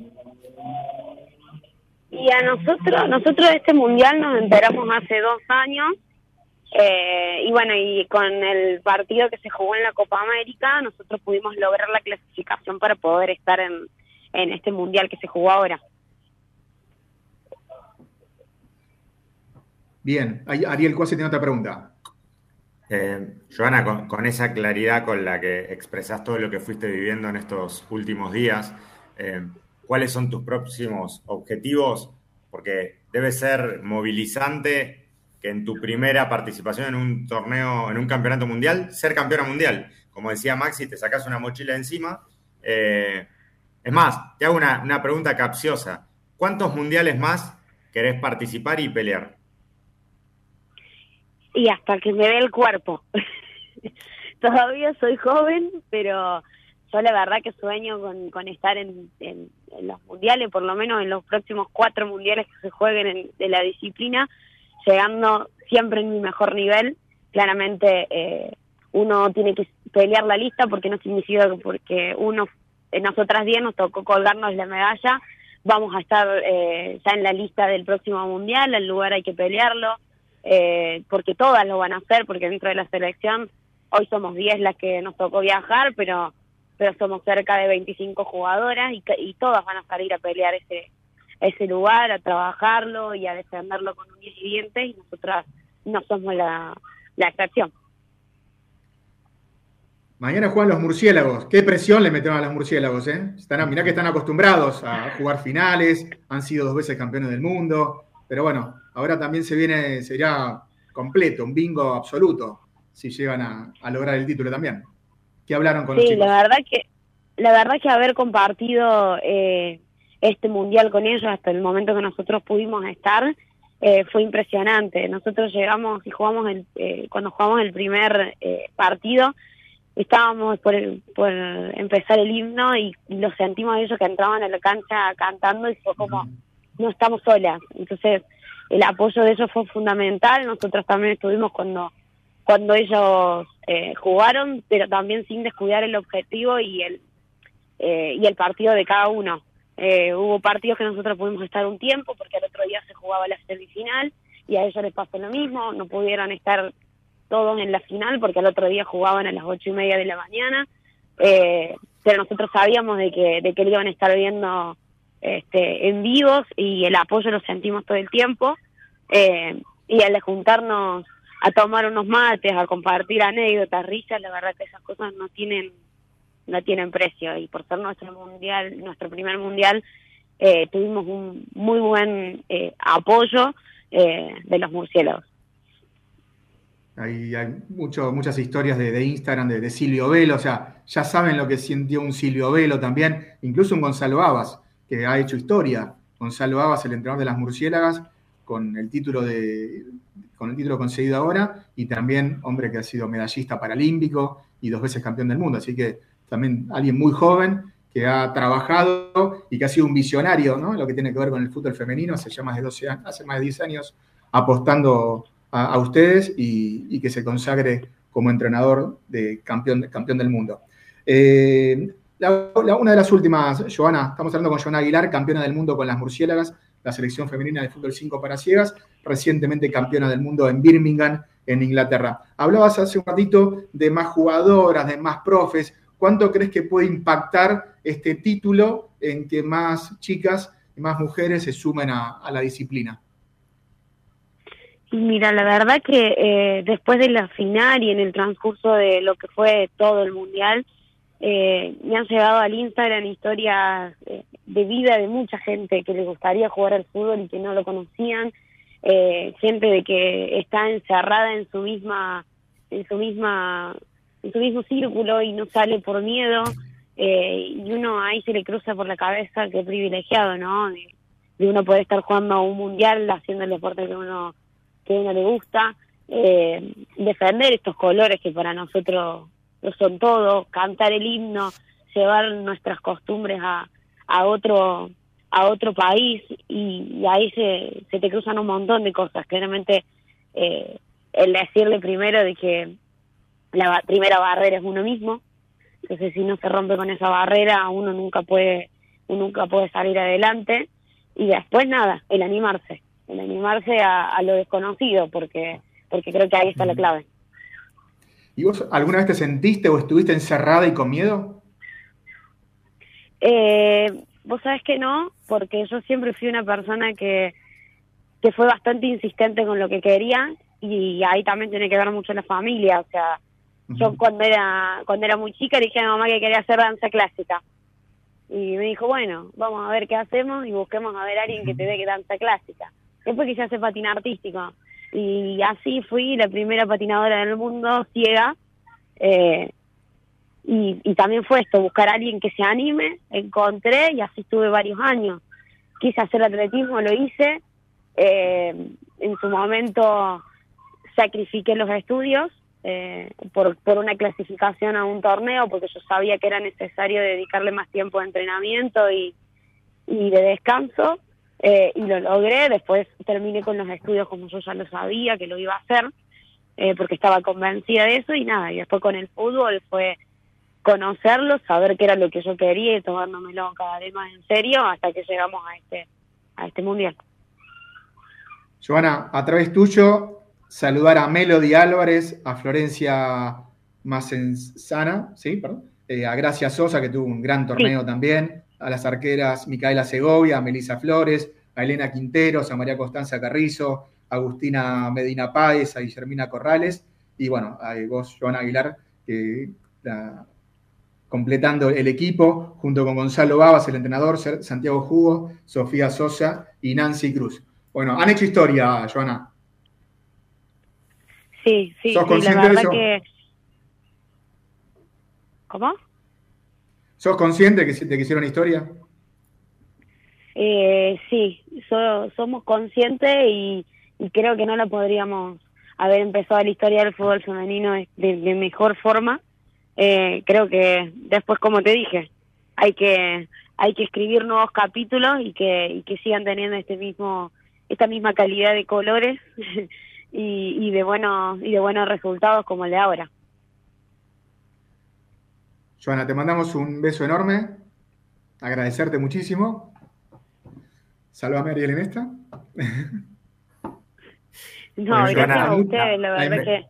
Y a nosotros, nosotros de este mundial nos enteramos hace dos años. Eh, y bueno, y con el partido que se jugó en la Copa América, nosotros pudimos lograr la clasificación para poder estar en, en este mundial que se jugó ahora. Bien, Ariel Cuasi tiene otra pregunta. Eh, Joana, con, con esa claridad con la que expresás todo lo que fuiste viviendo en estos últimos días, eh, ¿cuáles son tus próximos objetivos? Porque debe ser movilizante que en tu primera participación en un torneo, en un campeonato mundial, ser campeona mundial. Como decía Maxi, te sacás una mochila encima. Eh, es más, te hago una, una pregunta capciosa. ¿Cuántos mundiales más querés participar y pelear? Y hasta que me dé el cuerpo. Todavía soy joven, pero yo la verdad que sueño con, con estar en, en, en los mundiales, por lo menos en los próximos cuatro mundiales que se jueguen en, de la disciplina, llegando siempre en mi mejor nivel. Claramente eh, uno tiene que pelear la lista, porque no significa que porque uno, en nosotras diez nos tocó colgarnos la medalla, vamos a estar eh, ya en la lista del próximo mundial, el lugar hay que pelearlo, eh, porque todas lo van a hacer, porque dentro de la selección hoy somos diez las que nos tocó viajar, pero pero somos cerca de veinticinco jugadoras y, y todas van a salir a pelear ese ese lugar, a trabajarlo y a defenderlo con uñas y dientes, y nosotras no somos la, la excepción. Mañana juegan los murciélagos. ¿Qué presión le metieron a los murciélagos? Eh? Están, mirá que están acostumbrados a jugar finales, han sido dos veces campeones del mundo, pero bueno, ahora también se viene, sería completo, un bingo absoluto, si llegan a, a lograr el título también. ¿Qué hablaron con sí, los chicos? la verdad que, la verdad que haber compartido eh, este mundial con ellos hasta el momento que nosotros pudimos estar, eh, fue impresionante. Nosotros llegamos y jugamos el, eh, cuando jugamos el primer eh, partido, estábamos por, el, por empezar el himno y lo sentimos a ellos que entraban a la cancha cantando y fue como, no estamos solas. Entonces el apoyo de ellos fue fundamental. Nosotros también estuvimos cuando cuando ellos eh, jugaron, pero también sin descuidar el objetivo y el eh, y el partido de cada uno. Eh, hubo partidos que nosotros pudimos estar un tiempo porque al otro día se jugaba la semifinal y a ellos les pasó lo mismo, no pudieron estar todos en la final porque al otro día jugaban a las ocho y media de la mañana, eh, pero nosotros sabíamos de que de que lo iban a estar viendo este, en vivos y el apoyo lo sentimos todo el tiempo, eh, y al de juntarnos a tomar unos mates, a compartir anécdotas, risas, la verdad que esas cosas no tienen no tienen precio, y por ser nuestro mundial, nuestro primer mundial, eh, tuvimos un muy buen eh, apoyo eh, de los murciélagos. Hay, hay mucho, muchas historias de, de Instagram de, de Silvio Velo, o sea, ya saben lo que sintió un Silvio Velo también, incluso un Gonzalo Abas, que ha hecho historia. Gonzalo Abas, el entrenador de las murciélagas, con el título de con el título conseguido ahora, y también hombre que ha sido medallista paralímpico y dos veces campeón del mundo, así que también alguien muy joven que ha trabajado y que ha sido un visionario, ¿no? Lo que tiene que ver con el fútbol femenino, hace ya más de doce años, hace más de diez años apostando a, a ustedes y, y que se consagre como entrenador de campeón, campeón del mundo. Eh, la, la, una de las últimas, Joana, estamos hablando con Joana Aguilar, campeona del mundo con las murciélagas, la selección femenina de fútbol cinco para ciegas, recientemente campeona del mundo en Birmingham, en Inglaterra. Hablabas hace un ratito de más jugadoras, de más profes. ¿Cuánto crees que puede impactar este título en que más chicas y más mujeres se sumen a, a la disciplina? Mira, la verdad que eh, después de la final y en el transcurso de lo que fue todo el mundial, eh, me han llegado al Instagram historias eh, de vida de mucha gente que les gustaría jugar al fútbol y que no lo conocían, eh, gente de que está encerrada en su misma, en su misma, en su mismo círculo y no sale por miedo, eh, y uno ahí se le cruza por la cabeza qué privilegiado, ¿no? De, de uno poder estar jugando a un mundial haciendo el deporte que uno que a uno le gusta, eh, defender estos colores que para nosotros lo son todo, cantar el himno, llevar nuestras costumbres a, a otro a otro país, y, y ahí se, se te cruzan un montón de cosas. Claramente eh, el decirle primero de que la ba- primera barrera es uno mismo, entonces si no se rompe con esa barrera uno nunca puede uno nunca puede salir adelante, y después nada, el animarse el animarse a, a lo desconocido, porque porque creo que ahí está la clave. ¿Y vos alguna vez te sentiste o estuviste encerrada y con miedo? Eh, vos sabés que no, porque yo siempre fui una persona que, que fue bastante insistente con lo que quería, y ahí también tiene que ver mucho la familia. O sea, uh-huh. yo cuando era cuando era muy chica le dije a mi mamá que quería hacer danza clásica. Y me dijo, bueno, vamos a ver qué hacemos y busquemos a ver a alguien que te dé danza clásica. Después quise hacer patín artístico. Y así fui la primera patinadora del mundo ciega. Eh, y, y también fue esto, buscar a alguien que se anime. Encontré y así estuve varios años. Quise hacer atletismo, lo hice. Eh, en su momento sacrifiqué los estudios eh, por, por una clasificación a un torneo, porque yo sabía que era necesario dedicarle más tiempo de entrenamiento y, y de descanso. Eh, y lo logré. Después terminé con los estudios como yo ya lo sabía que lo iba a hacer, eh, porque estaba convencida de eso, y nada, y después con el fútbol fue conocerlo, saber qué era lo que yo quería y tomárnoslo cada vez más en serio hasta que llegamos a este, a este mundial. Joana, a través tuyo, saludar a Melody Álvarez, a Florencia Macenzana, ¿sí? Perdón. Eh, a Gracia Sosa, que tuvo un gran torneo sí. también, a las arqueras Micaela Segovia, a Melissa Flores, a Elena Quinteros, a María Constanza Carrizo, a Agustina Medina Páez, a Guillermina Corrales, y bueno, a vos, Joana Aguilar, que la, completando el equipo, junto con Gonzalo Babas, el entrenador, Santiago Jugo, Sofía Sosa y Nancy Cruz. Bueno, han hecho historia, Joana. Sí, sí, ¿Sos sí, consciente la verdad de eso? que... ¿Cómo? ¿Sos consciente de que, de que hicieron historia? Eh, sí, so, somos conscientes y, y creo que no la podríamos haber empezado la historia del fútbol femenino de, de mejor forma. Eh, creo que después, como te dije, hay que hay que escribir nuevos capítulos y que y que sigan teniendo este mismo esta misma calidad de colores y, y de buenos y de buenos resultados como el de ahora. Joana, te mandamos un beso enorme, agradecerte muchísimo. Sálvame, Ariel, en esta. No, bueno, gracias Joana, a ustedes, la verdad que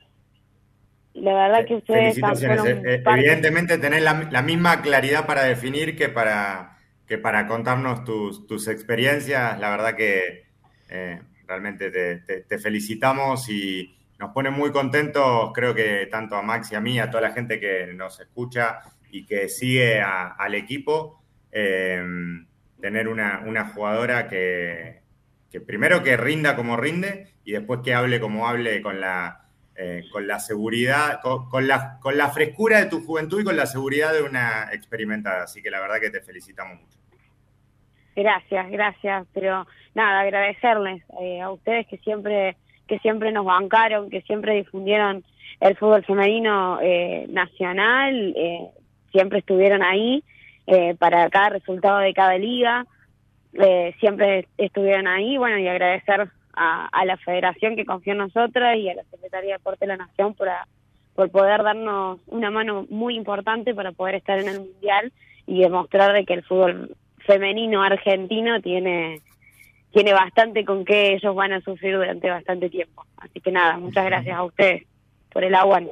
la verdad que ustedes felicitaciones. Eh, evidentemente tenés la, la misma claridad para definir que para que para contarnos tus, tus experiencias. La verdad que eh, realmente te, te, te felicitamos y nos pone muy contentos, creo que tanto a Max y a mí, a toda la gente que nos escucha y que sigue a, al equipo, eh, tener una, una jugadora que, que primero que rinda como rinde y después que hable como hable con la, eh, con la seguridad, con, con, la, con la frescura de tu juventud y con la seguridad de una experimentada. Así que la verdad que te felicitamos mucho. Gracias, gracias. Pero nada, agradecerles eh, a ustedes que siempre... que siempre nos bancaron, que siempre difundieron el fútbol femenino eh, nacional, eh, siempre estuvieron ahí eh, para cada resultado de cada liga, eh, siempre estuvieron ahí, bueno, y agradecer a, a la federación que confió en nosotras y a la Secretaría de Deporte de la Nación por, a, por poder darnos una mano muy importante para poder estar en el Mundial y demostrar de que el fútbol femenino argentino tiene... tiene bastante con que ellos van a sufrir durante bastante tiempo. Así que nada, muchas gracias a ustedes por el aguante.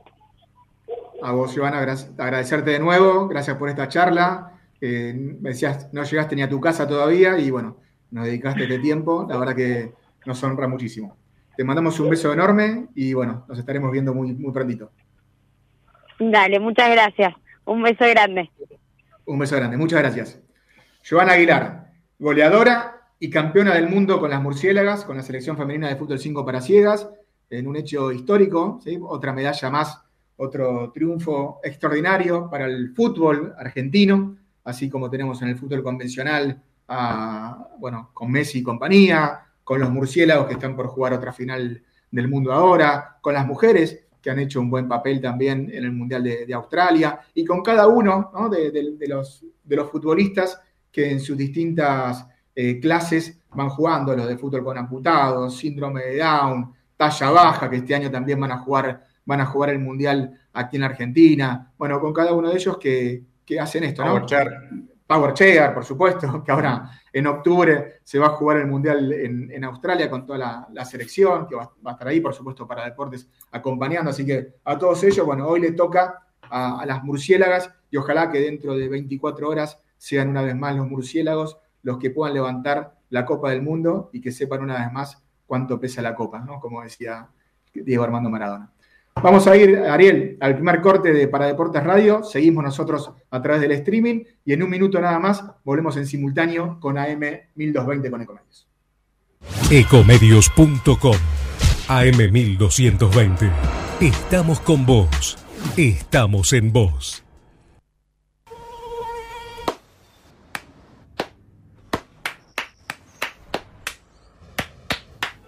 A vos, Joana, agradecerte de nuevo, gracias por esta charla. Eh, me decías, no llegaste ni a tu casa todavía y bueno, nos dedicaste este tiempo, la verdad que nos honra muchísimo. Te mandamos un beso enorme y bueno, nos estaremos viendo muy, muy prontito. Dale, muchas gracias. Un beso grande. Un beso grande, muchas gracias. Joana Aguilar, goleadora y campeona del mundo con las murciélagas, con la selección femenina de fútbol cinco para ciegas, en un hecho histórico, ¿sí? Otra medalla más, otro triunfo extraordinario para el fútbol argentino, así como tenemos en el fútbol convencional, a, bueno, con Messi y compañía, con los murciélagos que están por jugar otra final del mundo ahora, con las mujeres que han hecho un buen papel también en el Mundial de, de Australia, y con cada uno, ¿no? de, de, de, los, de los futbolistas que en sus distintas Eh, clases van jugando, los de fútbol con amputados, síndrome de Down, talla baja, que este año también van a jugar, van a jugar el Mundial aquí en Argentina. Bueno, con cada uno de ellos que, que hacen esto, ¿no? Power Chair. Power Chair, por supuesto, que ahora en octubre se va a jugar el Mundial en, en Australia con toda la, la selección, que va, va a estar ahí, por supuesto, para deportes acompañando. Así que a todos ellos, bueno, hoy le toca a, a las murciélagas y ojalá que dentro de veinticuatro horas sean una vez más los murciélagos los que puedan levantar la Copa del Mundo y que sepan una vez más cuánto pesa la Copa, ¿no? Como decía Diego Armando Maradona. Vamos a ir, Ariel, al primer corte de Para Deportes Radio. Seguimos nosotros a través del streaming y en un minuto nada más volvemos en simultáneo con A M mil doscientos veinte con Ecomedios. Ecomedios punto com A M mil doscientos veinte. Estamos con vos. Estamos en vos.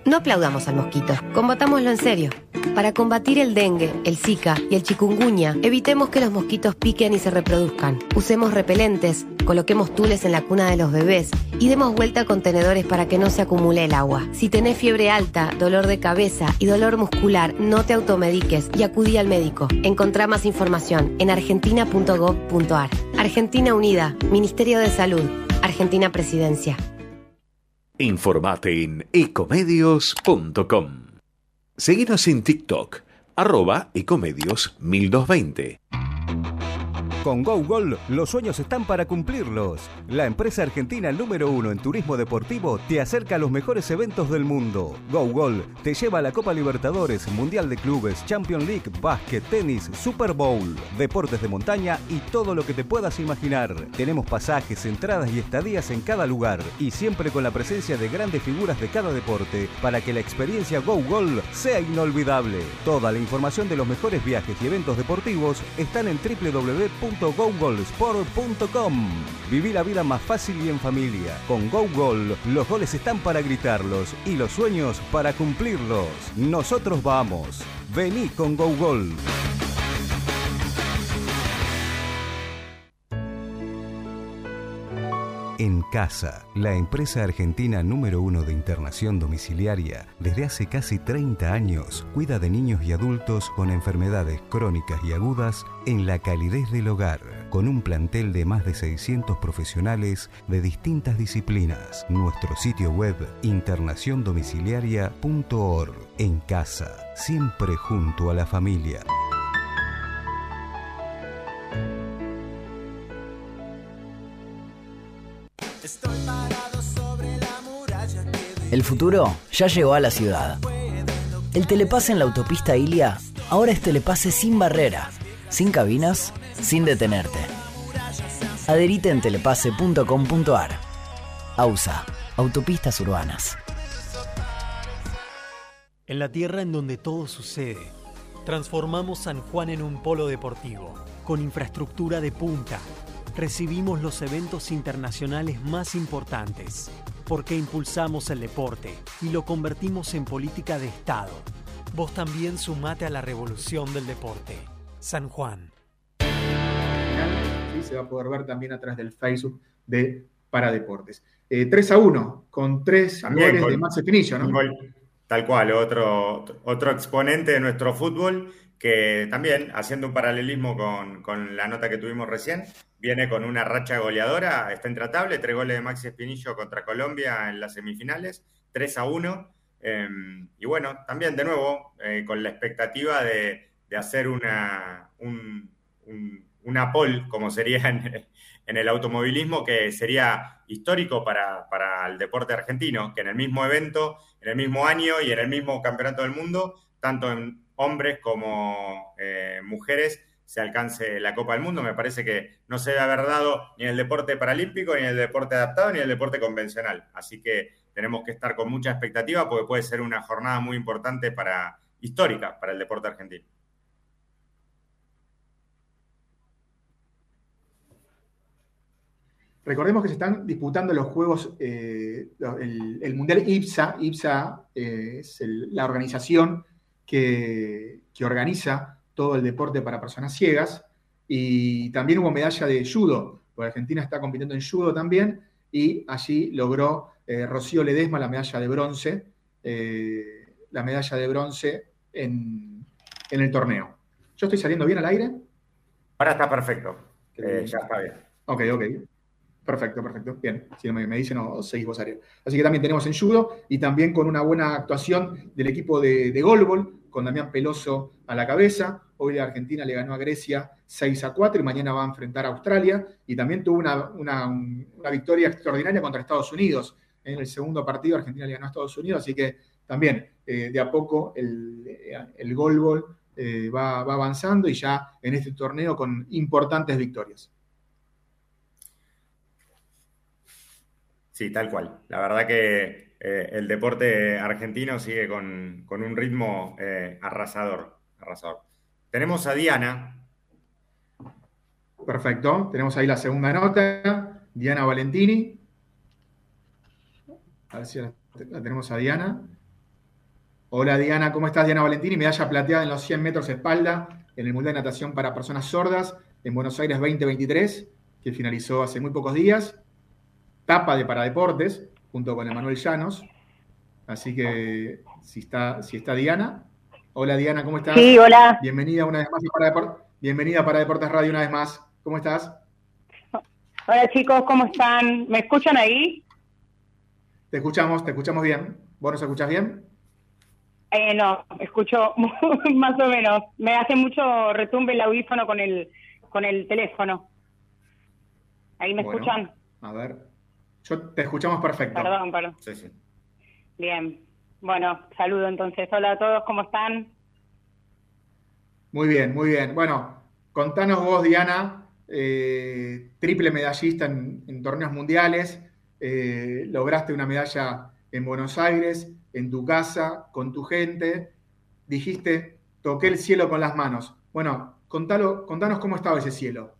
No aplaudamos al mosquito, combatámoslo en serio. Para combatir el dengue, el zika y el chikungunya, evitemos que los mosquitos piquen y se reproduzcan. Usemos repelentes, coloquemos tules en la cuna de los bebés y demos vuelta a contenedores para que no se acumule el agua. Si tenés fiebre alta, dolor de cabeza y dolor muscular, no te automediques y acudí al médico. Encontrá más información en argentina punto gov punto ar. Argentina Unida, Ministerio de Salud, Argentina Presidencia. Informate en ecomedios punto com. Seguinos en TikTok, arroba ecomedios mil doscientos veinte. Con GoGol, los sueños están para cumplirlos. La empresa argentina número uno en turismo deportivo te acerca a los mejores eventos del mundo. GoGol te lleva a la Copa Libertadores, Mundial de Clubes, Champions League, básquet, tenis, Super Bowl, deportes de montaña y todo lo que te puedas imaginar. Tenemos pasajes, entradas y estadías en cada lugar y siempre con la presencia de grandes figuras de cada deporte para que la experiencia GoGol sea inolvidable. Toda la información de los mejores viajes y eventos deportivos están en doble u doble u doble u punto go gol sport punto com. Viví la vida más fácil y en familia. Con GoGol, los goles están para gritarlos y los sueños para cumplirlos. Nosotros vamos. Vení con GoGol. En Casa, la empresa argentina número uno de internación domiciliaria, desde hace casi treinta años, cuida de niños y adultos con enfermedades crónicas y agudas en la calidez del hogar, con un plantel de más de seiscientos profesionales de distintas disciplinas. Nuestro sitio web, internación domiciliaria punto org. En Casa, siempre junto a la familia. El futuro ya llegó a la ciudad. El telepase en la autopista Ilia ahora es telepase sin barrera, sin cabinas, sin detenerte. Adherite en telepase punto com punto ar. AUSA, Autopistas Urbanas. En la tierra en donde todo sucede, transformamos San Juan en un polo deportivo, con infraestructura de punta. Recibimos los eventos internacionales más importantes, porque impulsamos el deporte y lo convertimos en política de Estado. Vos también sumate a la revolución del deporte. San Juan. Sí, se va a poder ver también a través del Facebook de Paradeportes. Eh, tres a uno, con tres también goles gol, de Maxi Pinillo, ¿no? Gol, tal cual, otro, otro exponente de nuestro fútbol que también, haciendo un paralelismo con, con la nota que tuvimos recién, viene con una racha goleadora, está intratable, tres goles de Maxi Espinillo contra Colombia en las semifinales, tres a uno, eh, y bueno, también de nuevo, eh, con la expectativa de, de hacer una, un, un, una pole, como sería en, en el automovilismo, que sería histórico para, para el deporte argentino, que en el mismo evento, en el mismo año y en el mismo campeonato del mundo, tanto en hombres como eh, mujeres, se alcance la Copa del Mundo. Me parece que no se debe haber dado ni en el deporte paralímpico, ni en el deporte adaptado, ni en el deporte convencional. Así que tenemos que estar con mucha expectativa porque puede ser una jornada muy importante, para histórica para el deporte argentino. Recordemos que se están disputando los Juegos, eh, el, el Mundial IPSA. IPSA eh, es el, la organización que, que organiza todo el deporte para personas ciegas, y también hubo medalla de judo, porque Argentina está compitiendo en judo también, y allí logró eh, Rocío Ledesma la medalla de bronce, eh, la medalla de bronce en, en el torneo. ¿Yo estoy saliendo bien al aire? Ahora está perfecto, eh, ya está bien. Ok, ok. Perfecto, perfecto. Bien, si me, me dicen, no, seguís vos, Ariel. Así que también tenemos en judo, y también con una buena actuación del equipo de, de Golbol, con Damián Peloso a la cabeza. Hoy la Argentina le ganó a Grecia seis a cuatro y mañana va a enfrentar a Australia. Y también tuvo una, una, una victoria extraordinaria contra Estados Unidos. En el segundo partido Argentina le ganó a Estados Unidos, así que también eh, de a poco el, el Golbol eh, va, va avanzando, y ya en este torneo con importantes victorias. Sí, tal cual. La verdad que eh, el deporte argentino sigue con, con un ritmo eh, arrasador, arrasador. Tenemos a Diana. Perfecto. Tenemos ahí la segunda nota. Diana Valentini. A ver si la, la tenemos a Diana. Hola Diana, ¿cómo estás? Diana Valentini, medalla plateada en los cien metros espalda en el Mundial de Natación para Personas Sordas en Buenos Aires veinte veintitrés, que finalizó hace muy pocos días. Tapa de Paradeportes, junto con Emanuel Llanos. Así que, si está, si está Diana. Hola Diana, ¿cómo estás? Sí, hola. Bienvenida una vez más a Paradeportes. Bienvenida a Paradeportes Radio una vez más. ¿Cómo estás? Hola chicos, ¿cómo están? ¿Me escuchan ahí? Te escuchamos, te escuchamos bien. ¿Vos nos escuchás bien? Eh, no, escucho más o menos. Me hace mucho retumbe el audífono con el, con el teléfono. ¿Ahí me bueno, escuchan? A ver. Yo te escuchamos perfecto. Perdón, perdón. Sí, sí. Bien. Bueno, saludo entonces. Hola a todos, ¿cómo están? Muy bien, muy bien. Bueno, contanos vos, Diana, eh, triple medallista en, en torneos mundiales, eh, lograste una medalla en Buenos Aires, en tu casa, con tu gente, dijiste, toqué el cielo con las manos. Bueno, contalo, contanos cómo estaba ese cielo.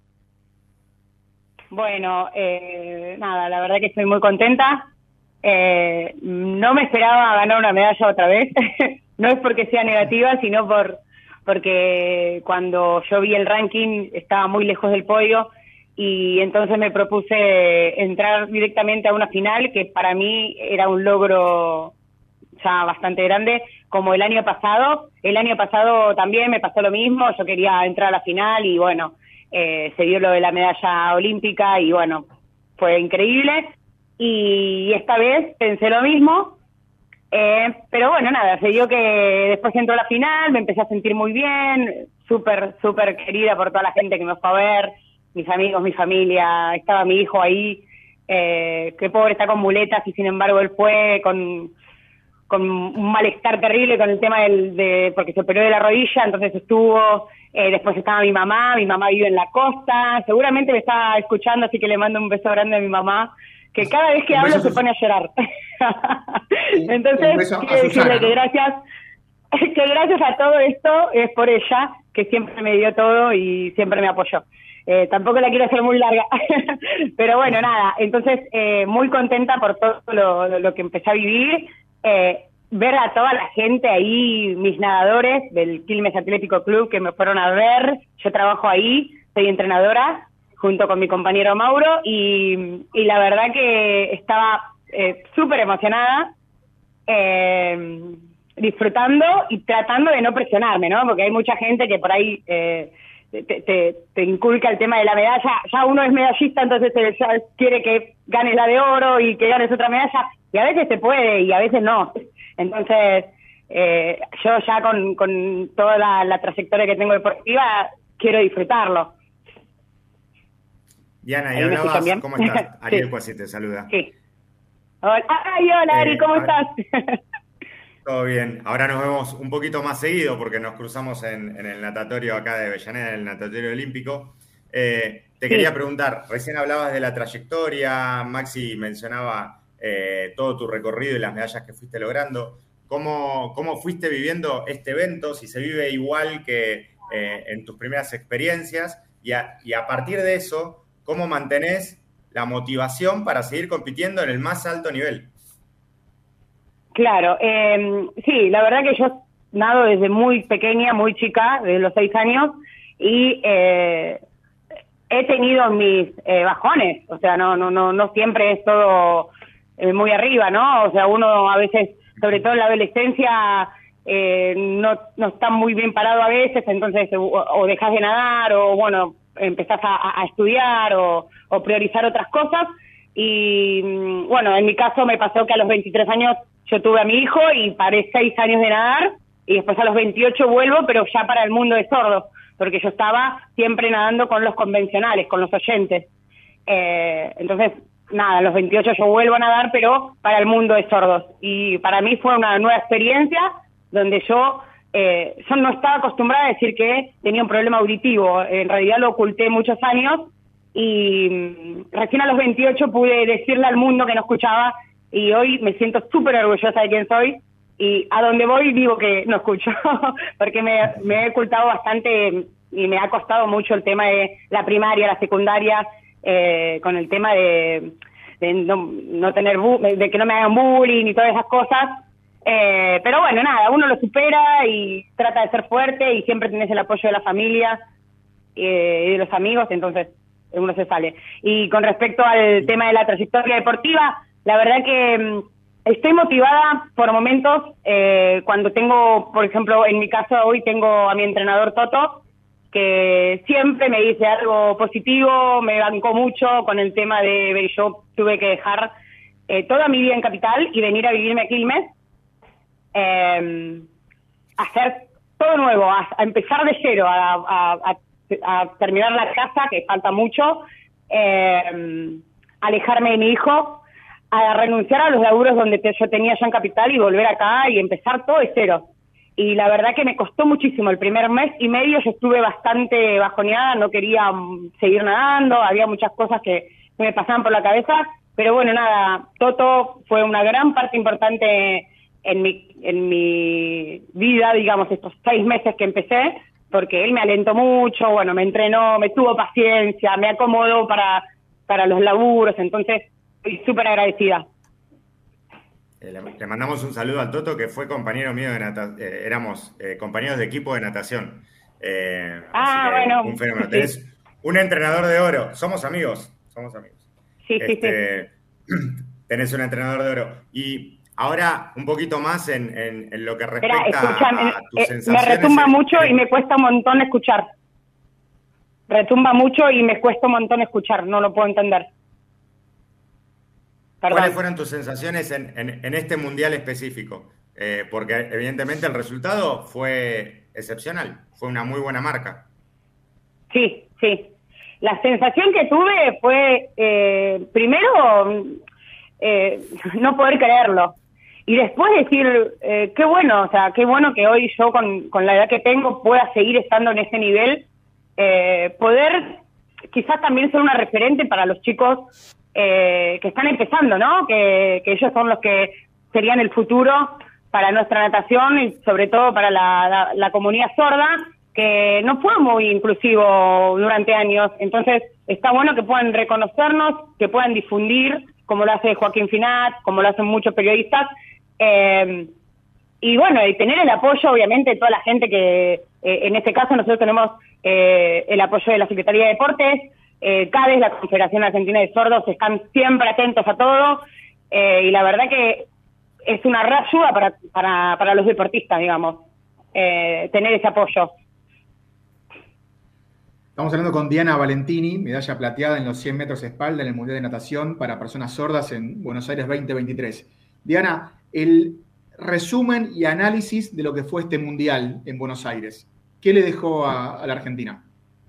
Bueno, eh, nada, la verdad que estoy muy contenta. Eh, no me esperaba ganar una medalla otra vez. No es porque sea negativa, sino por porque cuando yo vi el ranking estaba muy lejos del podio y entonces me propuse entrar directamente a una final que para mí era un logro ya bastante grande, como el año pasado. El año pasado también me pasó lo mismo, yo quería entrar a la final y bueno, eh, se dio lo de la medalla olímpica y bueno, fue increíble. Y esta vez pensé lo mismo, eh, pero bueno, nada, se dio que después entró a la final, me empecé a sentir muy bien, súper, súper querida por toda la gente que me fue a ver, mis amigos, mi familia, estaba mi hijo ahí, eh, que pobre está con muletas y sin embargo él fue con, con un malestar terrible con el tema del, de, porque se operó de la rodilla, entonces estuvo, eh, después estaba mi mamá, mi mamá vive en la costa, seguramente me está escuchando, así que le mando un beso grande a mi mamá, que cada vez que hablo se pone a llorar. Entonces, quiero decirle que gracias, que gracias a todo esto es por ella, que siempre me dio todo y siempre me apoyó. Eh, tampoco la quiero hacer muy larga, pero bueno, nada, entonces eh, muy contenta por todo lo, lo que empecé a vivir, eh, ver a toda la gente ahí, mis nadadores del Quilmes Atlético Club que me fueron a ver, yo trabajo ahí, soy entrenadora, junto con mi compañero Mauro, y, y la verdad que estaba eh, súper emocionada, eh, disfrutando y tratando de no presionarme, ¿no? Porque hay mucha gente que por ahí eh, te, te, te inculca el tema de la medalla, ya uno es medallista, entonces te, ya quiere que ganes la de oro y que ganes otra medalla, y a veces se puede y a veces no. Entonces, eh, yo ya con, con toda la, la trayectoria que tengo deportiva, quiero disfrutarlo. Diana, y hablabas, ¿cómo estás? Ariel sí. Cuasi te saluda. Sí. Hola, ay, hola Ari, ¿cómo eh, estás? Todo bien. Ahora nos vemos un poquito más seguido porque nos cruzamos en, en el natatorio acá de Avellaneda, en el natatorio olímpico. Eh, te sí. quería preguntar, recién hablabas de la trayectoria, Maxi mencionaba eh, todo tu recorrido y las medallas que fuiste logrando. ¿Cómo, cómo fuiste viviendo este evento? Si se vive igual que eh, en tus primeras experiencias y a, y a partir de eso, ¿cómo mantenés la motivación para seguir compitiendo en el más alto nivel? Claro, eh, sí, la verdad que yo nado desde muy pequeña, muy chica, desde los seis años, y eh, he tenido mis eh, bajones, o sea, no, no, no, no siempre es todo eh, muy arriba, ¿no? O sea, uno a veces, sobre todo en la adolescencia, eh, no, no está muy bien parado a veces, entonces o, o dejas de nadar, o bueno, empezás a, a estudiar o, o priorizar otras cosas y bueno, en mi caso me pasó que a los veintitrés años yo tuve a mi hijo y paré seis años de nadar y después a los veintiocho vuelvo, pero ya para el mundo de sordos, porque yo estaba siempre nadando con los convencionales, con los oyentes. Eh, entonces, nada, a los veintiocho yo vuelvo a nadar, pero para el mundo de sordos. Y para mí fue una nueva experiencia donde yo... Eh, yo no estaba acostumbrada a decir que tenía un problema auditivo, en realidad lo oculté muchos años y mmm, recién a los veintiocho pude decirle al mundo que no escuchaba y hoy me siento súper orgullosa de quién soy y a donde voy digo que no escucho porque me, me he ocultado bastante y me ha costado mucho el tema de la primaria, la secundaria, eh, con el tema de, de no, no tener bu- de que no me hagan bullying y todas esas cosas. Eh, pero bueno, nada, uno lo supera y trata de ser fuerte y siempre tenés el apoyo de la familia eh, y de los amigos, entonces uno se sale. Y con respecto al tema de la trayectoria deportiva, la verdad que mmm, estoy motivada por momentos, eh, cuando tengo, por ejemplo, en mi caso hoy tengo a mi entrenador Toto, que siempre me dice algo positivo, me bancó mucho con el tema de, yo tuve que dejar eh, toda mi vida en Capital y venir a vivirme a Quilmes, eh, hacer todo nuevo, a, a empezar de cero, a, a, a, a terminar la casa, que falta mucho, eh, alejarme de mi hijo, a renunciar a los laburos donde te, yo tenía ya en Capital y volver acá y empezar todo de cero. Y la verdad que me costó muchísimo. El primer mes y medio yo estuve bastante bajoneada, no quería um, seguir nadando, había muchas cosas que, que me pasaban por la cabeza, pero bueno, nada, Toto fue una gran parte importante en mi, en mi vida, digamos, estos seis meses que empecé, porque él me alentó mucho, bueno, me entrenó, me tuvo paciencia, me acomodó para, para los laburos, entonces estoy súper agradecida. Eh, le, le mandamos un saludo al Toto, que fue compañero mío de natación, eh, éramos eh, compañeros de equipo de natación. Eh, ah, bueno. Un fenómeno. Sí. Tenés un entrenador de oro. Somos amigos, somos amigos. Sí, este, sí, sí. Tenés un entrenador de oro. Y ahora, un poquito más en, en, en lo que respecta Espera, escuchame, a, a tus eh, sensaciones. me retumba en, mucho en... y me cuesta un montón escuchar. Retumba mucho y me cuesta un montón escuchar, no lo puedo entender. Perdón. ¿Cuáles fueron tus sensaciones en, en, en este mundial específico? Eh, porque evidentemente el resultado fue excepcional, fue una muy buena marca. Sí, sí. La sensación que tuve fue, eh, primero, eh, no poder creerlo. Y después decir, eh, qué bueno, o sea, qué bueno que hoy yo con, con la edad que tengo pueda seguir estando en ese nivel, eh, poder quizás también ser una referente para los chicos Eh, que están empezando, ¿no? Que, que ellos son los que serían el futuro para nuestra natación y sobre todo para la, la, la comunidad sorda, que no fue muy inclusivo durante años. Entonces, está bueno que puedan reconocernos, que puedan difundir, como lo hace Joaquín Finat, como lo hacen muchos periodistas, eh, y bueno, y tener el apoyo, obviamente, de toda la gente que, eh, en este caso, nosotros tenemos eh, el apoyo de la Secretaría de Deportes, Eh, CADES, la Confederación Argentina de Sordos, están siempre atentos a todo, eh, y la verdad que es una re ayuda para, para, para los deportistas, digamos, eh, tener ese apoyo. Estamos hablando con Diana Valentini, medalla plateada en los cien metros espalda en el Mundial de Natación para personas sordas en Buenos Aires veinte veintitrés. Diana, el resumen y análisis de lo que fue este Mundial en Buenos Aires, ¿qué le dejó a, a la Argentina?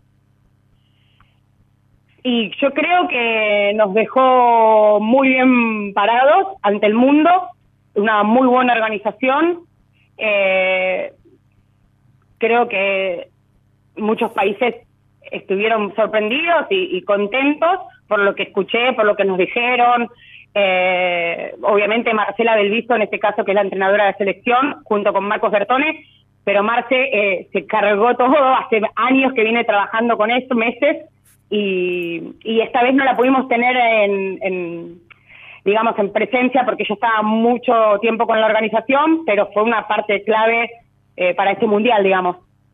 Y yo creo que nos dejó muy bien parados ante el mundo, una muy buena organización. Eh, creo que muchos países estuvieron sorprendidos y, y contentos por lo que escuché, por lo que nos dijeron. Eh, obviamente Marcela Belviso, en este caso, que es la entrenadora de selección, junto con Marcos Bertone, pero Marce eh, se cargó todo, hace años que viene trabajando con esto, meses, Y, y esta vez no la pudimos tener en, en, digamos, en presencia porque yo estaba mucho tiempo con la organización, pero fue una parte clave eh, para este mundial, digamos.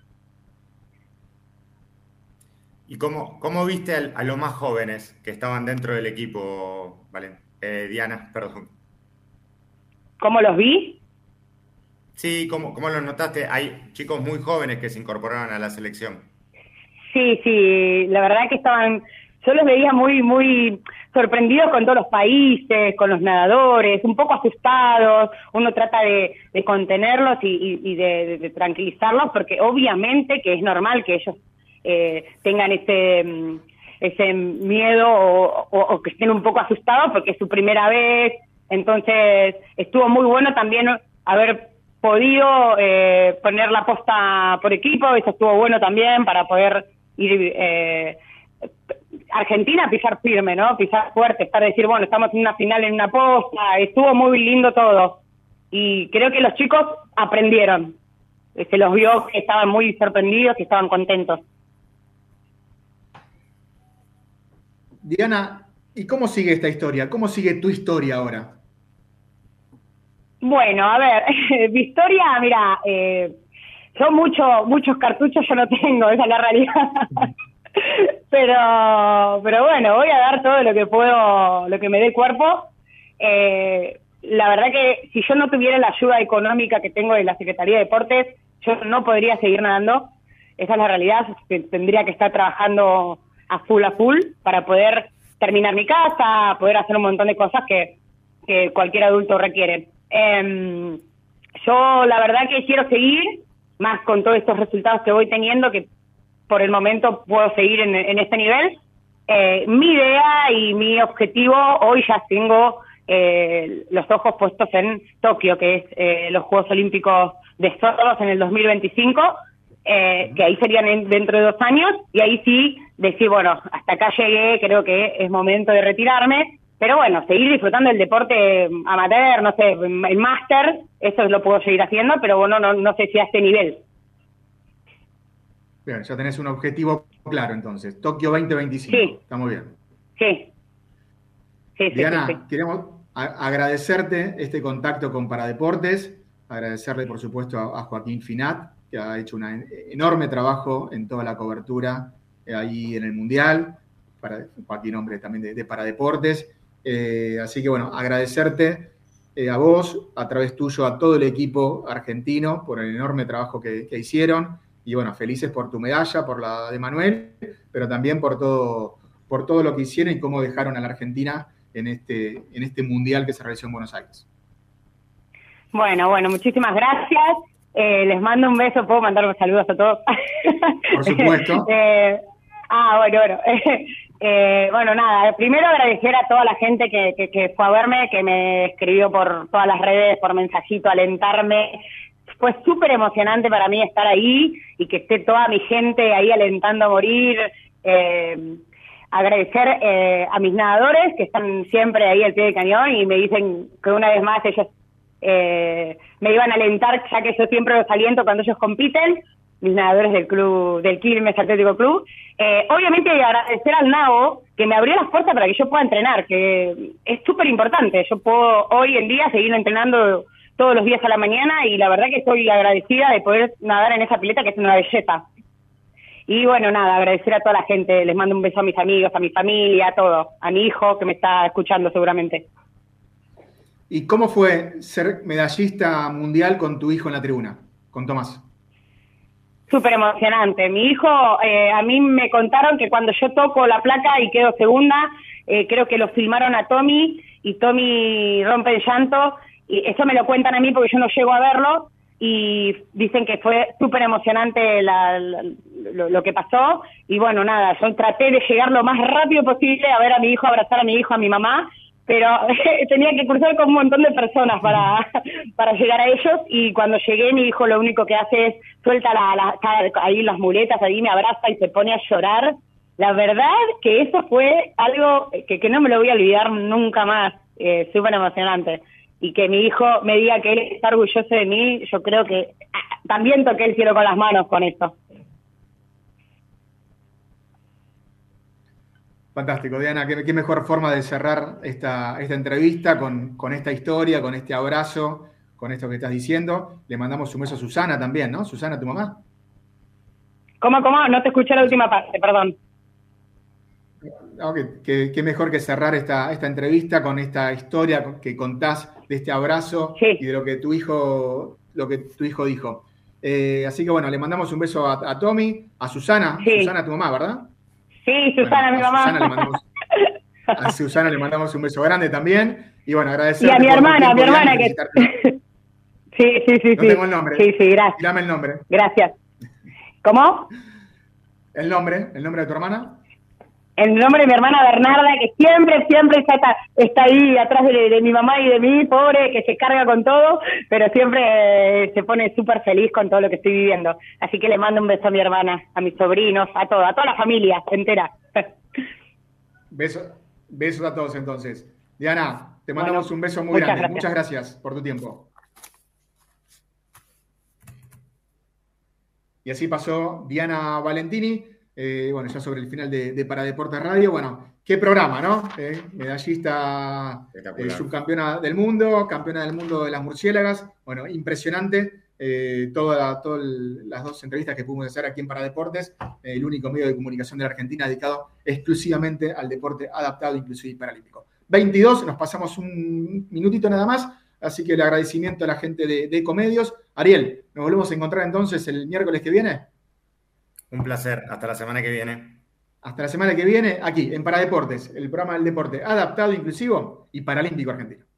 ¿Y cómo, cómo viste a, a los más jóvenes que estaban dentro del equipo, Valen? Eh, Diana, perdón? ¿Cómo los vi? Sí, ¿cómo, cómo los notaste? Hay chicos muy jóvenes que se incorporaron a la selección. Sí, sí, la verdad que estaban, yo los veía muy, muy sorprendidos con todos los países, con los nadadores, un poco asustados. Uno trata de, de contenerlos y, y, y de, de, de tranquilizarlos, porque obviamente que es normal que ellos eh, tengan ese, ese miedo o, o, o que estén un poco asustados porque es su primera vez. Entonces estuvo muy bueno también haber podido eh, poner la posta por equipo, eso estuvo bueno también para poder ir eh, Argentina pisar firme, ¿no? Pisar fuerte, estar decir, bueno, estamos en una final en una posta, estuvo muy lindo todo. Y creo que los chicos aprendieron. Se los vio que estaban muy sorprendidos y estaban contentos. Diana, ¿y cómo sigue esta historia? ¿Cómo sigue tu historia ahora? Bueno, a ver, Victoria, mira, eh, yo mucho, muchos cartuchos yo no tengo, esa es la realidad. pero, pero bueno, voy a dar todo lo que puedo, lo que me dé el cuerpo. Eh, la verdad que si yo no tuviera la ayuda económica que tengo de la Secretaría de Deportes, yo no podría seguir nadando. Esa es la realidad, tendría que estar trabajando a full a full para poder terminar mi casa, poder hacer un montón de cosas que, que cualquier adulto requiere. Eh, yo la verdad que quiero seguir, más con todos estos resultados que voy teniendo, que por el momento puedo seguir en, en este nivel. Eh, mi idea y mi objetivo, hoy ya tengo eh, los ojos puestos en Tokio, que es eh, los Juegos Olímpicos de Sordos en el dos mil veinticinco, eh, que ahí serían en, dentro de dos años, y ahí sí decir, bueno, hasta acá llegué, creo que es momento de retirarme, pero bueno, seguir disfrutando del deporte amateur, no sé, el máster, eso lo puedo seguir haciendo, pero bueno, no, no sé si a este nivel. Bien, ya tenés un objetivo claro entonces, Tokio veinte veinticinco, sí. Está muy bien. Sí. Sí, Diana, sí, sí, sí. queremos a- agradecerte este contacto con Paradeportes, agradecerle por supuesto a, a Joaquín Finat, que ha hecho un enorme trabajo en toda la cobertura eh, ahí en el Mundial, para, Joaquín, hombre también de, de Paradeportes, eh, así que bueno, agradecerte eh, a vos, a través tuyo, a todo el equipo argentino por el enorme trabajo que, que hicieron, y bueno, felices por tu medalla, por la de Manuel, pero también por todo, por todo lo que hicieron y cómo dejaron a la Argentina en este, en este Mundial que se realizó en Buenos Aires. Bueno, bueno, muchísimas gracias. Eh, les mando un beso, puedo mandar unos saludos a todos. Por supuesto. eh, ah, bueno, bueno. eh, bueno, nada, primero agradecer a toda la gente que, que, que fue a verme, que me escribió por todas las redes, por mensajito, alentarme. Fue súper emocionante para mí estar ahí y que esté toda mi gente ahí alentando a morir. Eh, agradecer eh, a mis nadadores que están siempre ahí al pie del cañón y me dicen que una vez más ellos Eh, me iban a alentar, ya que yo siempre los aliento cuando ellos compiten, mis nadadores del club, del Quilmes Atlético Club. Eh, obviamente agradecer al Nabo, que me abrió las puertas para que yo pueda entrenar, que es súper importante. Yo puedo hoy en día seguir entrenando todos los días a la mañana y la verdad que estoy agradecida de poder nadar en esa pileta, que es una belleza. Y bueno, nada, agradecer a toda la gente, les mando un beso a mis amigos, a mi familia, a todo, a mi hijo que me está escuchando seguramente. ¿Y cómo fue ser medallista mundial con tu hijo en la tribuna, con Tomás? Súper emocionante. Mi hijo, eh, a mí me contaron que cuando yo toco la placa y quedo segunda, eh, creo que lo filmaron a Tommy y Tommy rompe el llanto. Y eso me lo cuentan a mí porque yo no llego a verlo y dicen que fue súper emocionante la, la, lo, lo que pasó. Y bueno, nada, yo traté de llegar lo más rápido posible a ver a mi hijo, abrazar a mi hijo, a mi mamá, pero tenía que cruzar con un montón de personas para, para llegar a ellos, y cuando llegué mi hijo lo único que hace es suelta la, la, ahí las muletas, ahí me abraza y se pone a llorar. La verdad que eso fue algo que, que no me lo voy a olvidar nunca más, eh, súper emocionante. Y que mi hijo me diga que él está orgulloso de mí, yo creo que ah, también toqué el cielo con las manos con esto. Fantástico, Diana, qué, qué mejor forma de cerrar esta, esta entrevista con, con esta historia, con este abrazo, con esto que estás diciendo. Le mandamos un beso a Susana también, ¿no? Susana, tu mamá. ¿Cómo, cómo? No te escuché la última parte, perdón. No, que, que, que mejor que cerrar esta, esta entrevista con esta historia que contás de este abrazo, sí, y de lo que tu hijo, lo que tu hijo dijo. Eh, así que bueno, le mandamos un beso a, a Tommy, a Susana, sí. Susana, tu mamá, ¿verdad? Sí, Susana, bueno, mi mamá. Susana le mandamos, a Susana le mandamos un beso grande también. Y bueno, agradecer. Y a mi hermana, a mi hermana que. Sí, sí, sí. No sí. tengo el nombre. Sí, sí, gracias. Dame el nombre. Gracias. ¿Cómo? El nombre, el nombre de tu hermana. El nombre de mi hermana Bernarda, que siempre, siempre está, está ahí atrás de, de mi mamá y de mí, pobre, que se carga con todo, pero siempre eh, se pone súper feliz con todo lo que estoy viviendo. Así que le mando un beso a mi hermana, a mis sobrinos, a todo, a toda la familia entera. Besos, besos a todos entonces. Diana, te mandamos bueno, un beso muy muchas grande. Gracias. Muchas gracias por tu tiempo. Y así pasó Diana Valentini, eh, bueno, ya sobre el final de, de Paradeportes Radio. Bueno, qué programa, ¿no? Eh, medallista, eh, subcampeona del mundo, campeona del mundo de las murciélagas. Bueno, impresionante. Eh, todas toda las dos entrevistas que pudimos hacer aquí en Paradeportes, eh, el único medio de comunicación de la Argentina dedicado exclusivamente al deporte adaptado, inclusive y paralímpico. veintidós, nos pasamos un minutito nada más, así que el agradecimiento a la gente de, de Ecomedios. Ariel, nos volvemos a encontrar entonces el miércoles que viene. Un placer, hasta la semana que viene. Hasta la semana que viene, aquí en Paradeportes, el programa del deporte adaptado, inclusivo y paralímpico argentino.